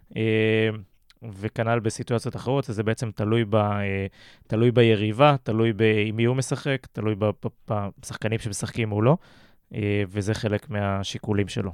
וכנ"ל בסיטואציות אחרות, אז זה בעצם תלוי ביריבה, תלוי עם מי הוא משחק, תלוי בשחקנים שמשחקים או לא, וזה חלק מהשיקולים שלו.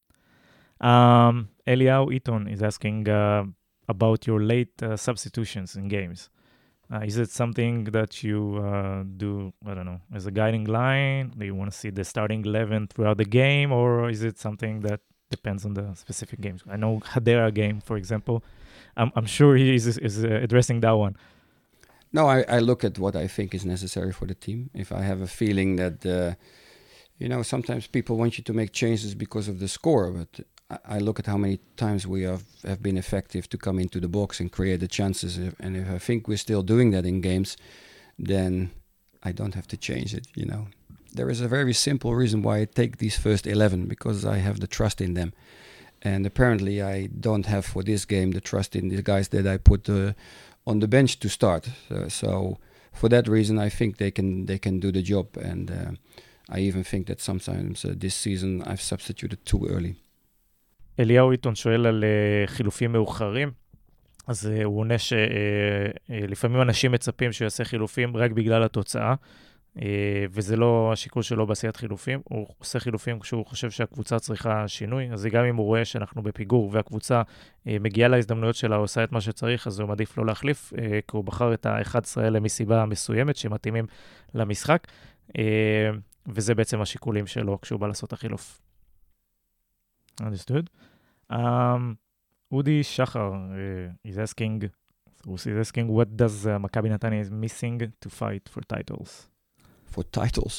אליהו איתון is asking about your late substitutions in games. Is it something that you do, I don't know, as a guiding line? Do you want to see the starting 11 throughout the game, or is it something that depends on the specific games? I know Hadera game, for example. I'm sure he is addressing that one. No, I look at what I think is necessary for the team. If I have a feeling that, sometimes people want you to make changes because of the score, but I look at how many times we have been effective to come into the box and create the chances. And if I think we're still doing that in games, then I don't have to change it, There is a very simple reason why I take these first 11, because I have the trust in them. And apparently I don't have for this game the trust in the guys that I put on the bench to start. So for that reason, I think they can do the job. And I even think that sometimes this season I've substituted too early. אליהו איתון שואל על חילופים מאוחרים, אז הוא עונה שלפעמים אנשים מצפים שהוא יעשה חילופים רק בגלל התוצאה, וזה לא השיקול שלו בעשיית חילופים, הוא עושה חילופים כשהוא חושב שהקבוצה צריכה שינוי, אז גם אם הוא רואה שאנחנו בפיגור והקבוצה מגיעה להזדמנויות שלה, עושה את מה שצריך, אז הוא מעדיף לא להחליף, כי הוא בחר את ה-11 האלה מסיבה מסוימת שמתאימים למשחק, וזה בעצם השיקולים שלו כשהוא בא לעשות החילוף. Understood. Udi Shachar is asking, what does Maccabi Netanya is missing to fight for titles? For titles?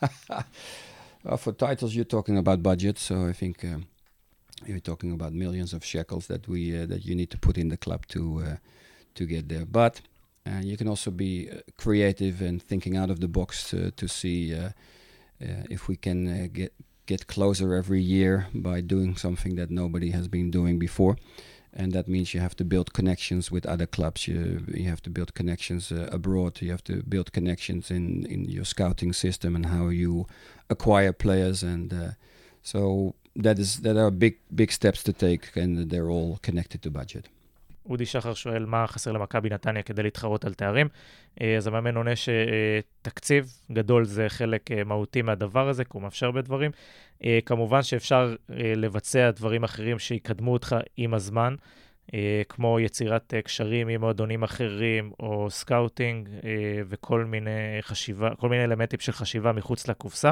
For titles, you're talking about budget, so I think you're talking about millions of shekels that you need to put in the club to get there. But you can also be creative and thinking out of the box to see if we can get closer every year by doing something that nobody has been doing before. And that means you have to build connections with other clubs. You have to build connections abroad. You have to build connections in your scouting system and how you acquire players. And so that are big steps to take, and they're all connected to budget. אודי שחר שואל מה חסר למכבי נתניה כדי להתחרות על תארים. אז המאמן עונה שתקציב גדול זה חלק מהותי מהדבר הזה, כי הוא מאפשר בדברים. כמובן שאפשר לבצע דברים אחרים שיקדמו אותך עם הזמן, כמו יצירת קשרים עם מועדונים אחרים, או סקאוטינג, וכל מיני אלמנטים של חשיבה מחוץ לקופסה.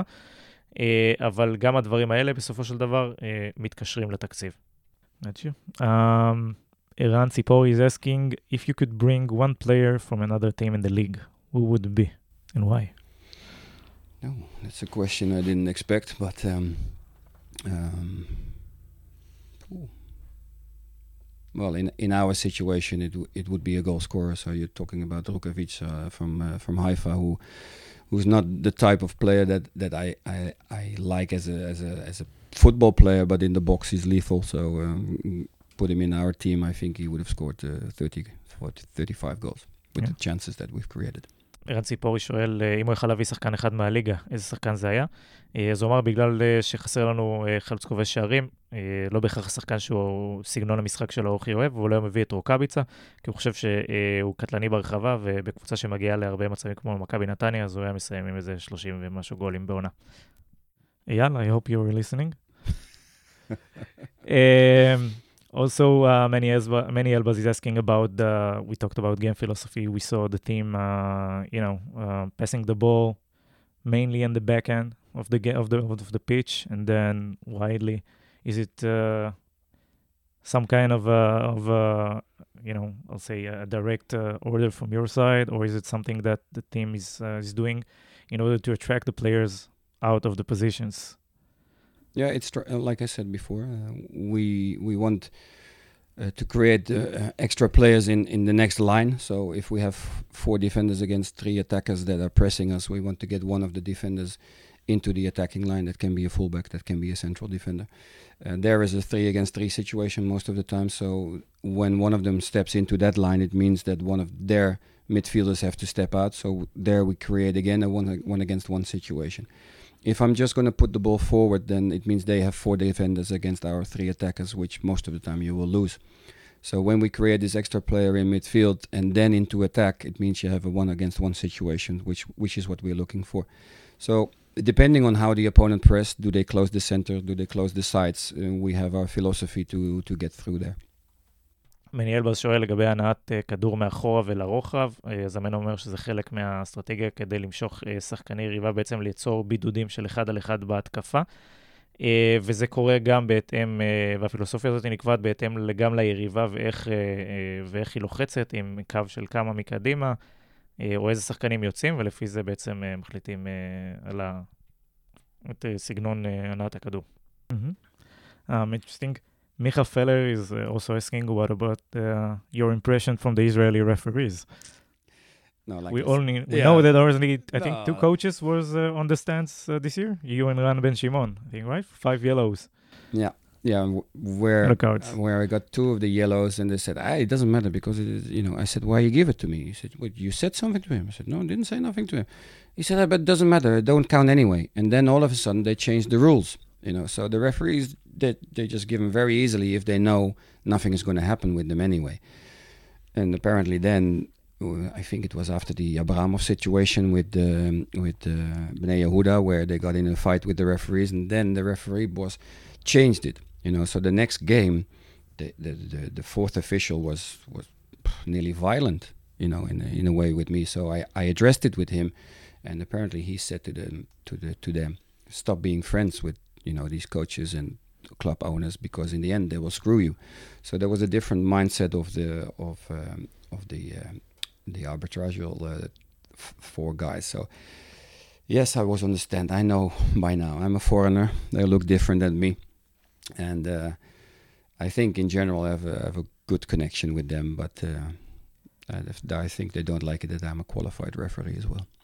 אבל גם הדברים האלה בסופו של דבר מתקשרים לתקציב. Eran Tzipori is asking if you could bring one player from another team in the league, who would it be and why? No, that's a question I didn't expect, but well, in our situation, it would be a goal scorer. So you're talking about Rukavic from Haifa, who's not the type of player that I like as a football player, but in the box he's lethal. So put him in our team, I think he would have scored 35 goals with the chances that we've created. ערן ציפורי שואל אם הוא יכל להביא שחקן אחד מהליגה, איזה שחקן זה היה? אז הוא אמר בגלל שחסר לנו חלוץ כובש שערים, לא בהכרח השחקן שהוא סגנון המשחק שלו אוכי אוהב, והוא לא מביא את רוקאביצה, כי הוא חושב שהוא קטלני ברחבה, ובקבוצה שמגיעה להרבה מצבים כמו מכבי נתניה, אז הוא היה מסיים עם איזה 30 ומשהו גולים בעונה. אייל, I hope you're listening. Also, Many Elbaz is asking about we talked about game philosophy. We saw the team, passing the ball mainly in the back end of the pitch and then widely. Is it some kind of I'll say a direct order from your side, or is it something that the team is doing in order to attract the players out of the positions? Yeah, it's like I said before, we want to create extra players in the next line. So if we have 4 defenders against 3 attackers that are pressing us, we want to get one of the defenders into the attacking line. That can be a fullback, that can be a central defender. There is a 3 against 3 situation most of the time. So when one of them steps into that line, it means that one of their midfielders have to step out. So there we create again a 1 against 1 situation. If I'm just going to put the ball forward, then it means they have 4 defenders against our 3 attackers, which most of the time you will lose. So when we create this extra player in midfield and then into attack, it means you have a 1 against 1 situation, which is what we're looking for. So depending on how the opponent press, do they close the center, do they close the sides? We have our philosophy to get through there. מני אלבז שואל לגבי הנעת כדור מאחורה ולרוחב. זמן אומר שזה חלק מהאסטרטגיה כדי למשוך שחקני יריבה, בעצם ליצור בידודים של 1 על 1 בהתקפה. וזה קורה גם בהתאם, והפילוסופיה הזאת נקבעת בהתאם גם ליריבה ואיך היא לוחצת, עם קו של כמה מקדימה, או איזה שחקנים יוצאים, ולפי זה בעצם מחליטים על סגנון הנעת הכדור. Interesting. Micha Feller is also asking what about your impression from the Israeli referees. No, like we know that there was only, I think, 2 coaches was on the stands this year. You and Ran Ben Shimon, I think, right? 5 yellows. Yeah, where I got 2 of the yellows, and they said, it doesn't matter because it is, I said, why you give it to me? He said, what, you said something to him? I said, no, I didn't say nothing to him. He said, but it doesn't matter, it don't count anyway. And then all of a sudden they changed the rules. So the referees, they just give them very easily if they know nothing is going to happen with them anyway. And apparently then, I think it was after the Abramov situation with Bnei Yehuda, where they got in a fight with the referees, and then the referee boss changed it. So the next game, the 4th official was nearly violent, in a way with me. So I addressed it with him, and apparently he said to them, stop being friends with these coaches and club owners, because in the end they will screw you. So there was a different mindset of the arbitrarial 4 guys. So yes, I was on the stand. I know by now I'm a foreigner. They look different than me, and I think in general I have a good connection with them. But I think they don't like it that I'm a qualified referee as well.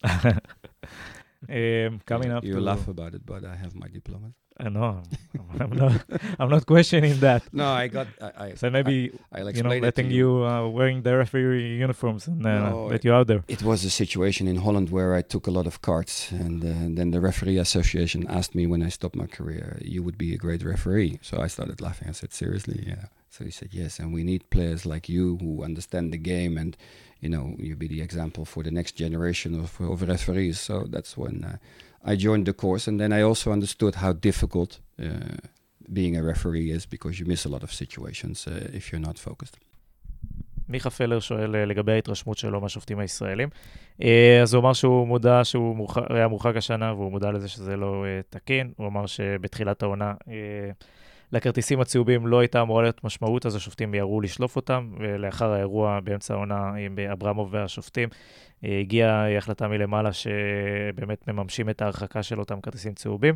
Coming up, you laugh about it, but I have my diploma. No, I'm not questioning that. No, so maybe letting you wearing the referee uniforms and let you out there. It was a situation in Holland where I took a lot of cards, and then the referee association asked me when I stopped my career, you would be a great referee. So I started laughing. I said, seriously? Yeah. So he said, yes, and we need players like you who understand the game, and you be the example for the next generation of referees. So that's when I joined the course, and then I also understood how difficult being a referee is, because you miss a lot of situations if you're not focused. מיכה פלר שואל לגבי ההתרשמות שלו מהשופטים הישראלים. אז הוא אמר שהוא מודע שהוא היה מורחק השנה, והוא מודע לזה שזה לא תקין. הוא אמר שבתחילת העונה לכרטיסים הצהובים לא הייתה אמורה להיות משמעות, אז השופטים יראו לשלוף אותם, ולאחר האירוע באמצע העונה עם אברמוב והשופטים, הגיעה החלטה מלמעלה שבאמת מממשים את ההרחקה של אותם כרטיסים צהובים.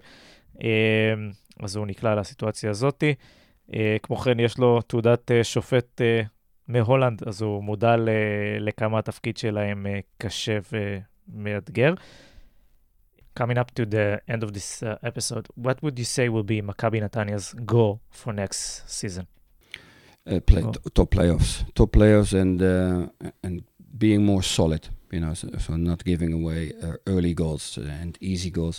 אז הוא נקלע לסיטואציה הזאת. כמו כן, יש לו תעודת שופט מהולנד, אז הוא מודע לכמה התפקיד שלהם קשה ומאתגר. Coming up to the end of this episode, what would you say will be Maccabi Netanyah's goal for next season? Top playoffs, and being more solid. So not giving away early goals and easy goals,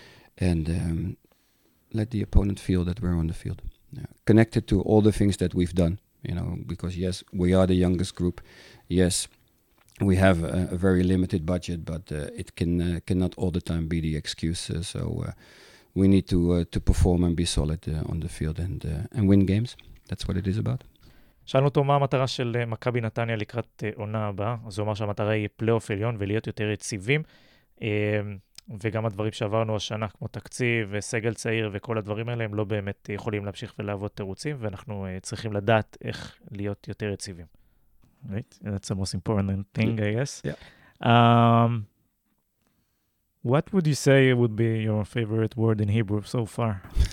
and let the opponent feel that we're on the field. Connected to all the things that we've done. Because yes, we are the youngest group. Yes, we have a very limited budget, but it cannot all the time be the excuse. So we need to perform and be solid on the field and win games. That's what it is about. שאלנו אותו מה המטרה של מכבי נתניה לקראת עונה הבאה. אז הוא אמר שהמטרה היא פלייאוף עליון ולהיות יותר יציבים. וגם הדברים שעברנו השנה, כמו תקציב וסגל צעיר וכל הדברים האלה, הם לא באמת יכולים להמשיך ולעבוד תירוצים, ואנחנו צריכים לדעת איך להיות יותר יציבים. Right? That's the most important thing, I guess. Yeah. What would you say would be your favorite word in Hebrew so far?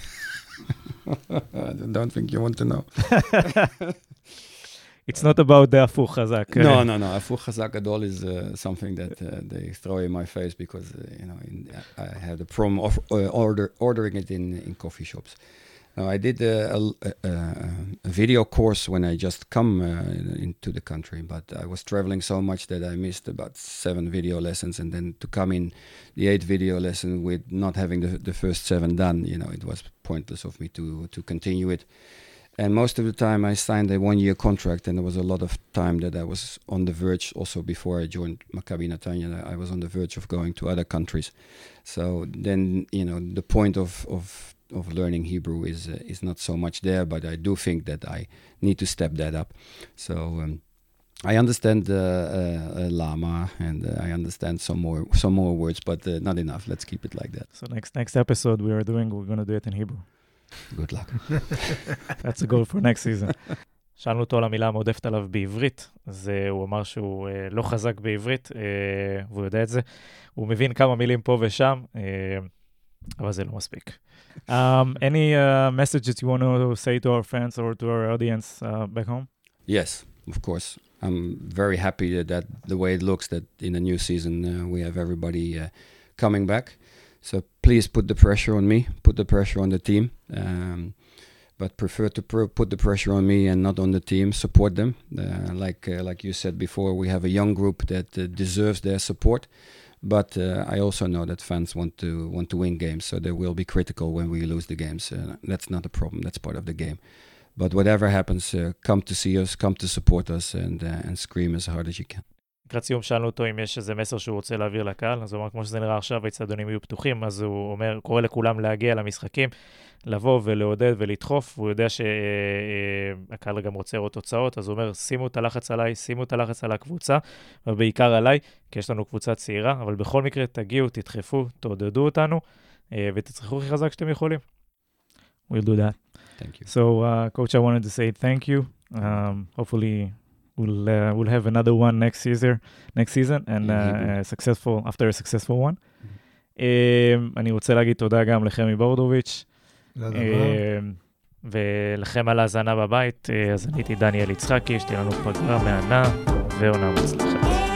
I don't think you want to know. It's not about the Afu Chazak. No. Afu Chazak Gadol is something that they throw in my face because, I had a problem of ordering it in coffee shops. Now, I did a video course when I just come into the country, but I was traveling so much that I missed about 7 video lessons, and then to come in the 8th video lesson with not having the first 7 done, it was pointless of me to continue it. And most of the time I signed a 1-year contract, and there was a lot of time that I was on the verge, also before I joined Maccabi Netanya, I was on the verge of going to other countries. So then, the point of learning Hebrew is not so much there, but I do think that I need to step that up. So I understand Lama, and I understand some more words, but not enough. Let's keep it like that. So next episode we're going to do it in Hebrew. Good luck. That's a goal for next season. שאלנו אותו על המילה המועדפת עליו בעברית, אז הוא אמר שהוא לא חזק בעברית, והוא יודע את זה. הוא מבין כמה מילים פה ושם, אבל זה לא מספיק. Any messages you want to say to our fans or to our audience back home? Yes, of course. I'm very happy that the way it looks, that in the new season we have everybody coming back. So please put the pressure on me, put the pressure on the team, but prefer to put the pressure on me and not on the team. Support them. Like you said before, we have a young group that deserves their support. But I also know that fans want to win games, so they will be critical when we lose the games. That's not a problem. That's part of the game. But whatever happens, come to see us, come to support us, and scream as hard as you can. לקראת סיום שאלנו אותו אם יש איזה מסר שהוא רוצה להעביר לקהל, אז הוא אומר, כמו שזה נראה עכשיו, האצטדיונים יהיו פתוחים, אז הוא אומר, קורא לכולם להגיע למשחקים, לבוא ולעודד ולדחוף, והוא יודע שהקהל גם רוצה לראות תוצאות, אז הוא אומר, שימו את הלחץ עליי, שימו את הלחץ על הקבוצה, ובעיקר עליי, כי יש לנו קבוצה צעירה, אבל בכל מקרה תגיעו, תדחפו, תעודדו אותנו, ותצריכו הכי חזק שאתם יכולים. We'll do that. Thank you. So, Coach, I wanted to say thank you. Hopefully, we'll have another one next season, and after a successful one. אני רוצה להגיד תודה גם לחמי בורדוביץ', ולכם על ההזנה בבית. אז אני הייתי דניאל יצחקי, שתהיה לנו פגרה מהנה ועונה מוצלחת.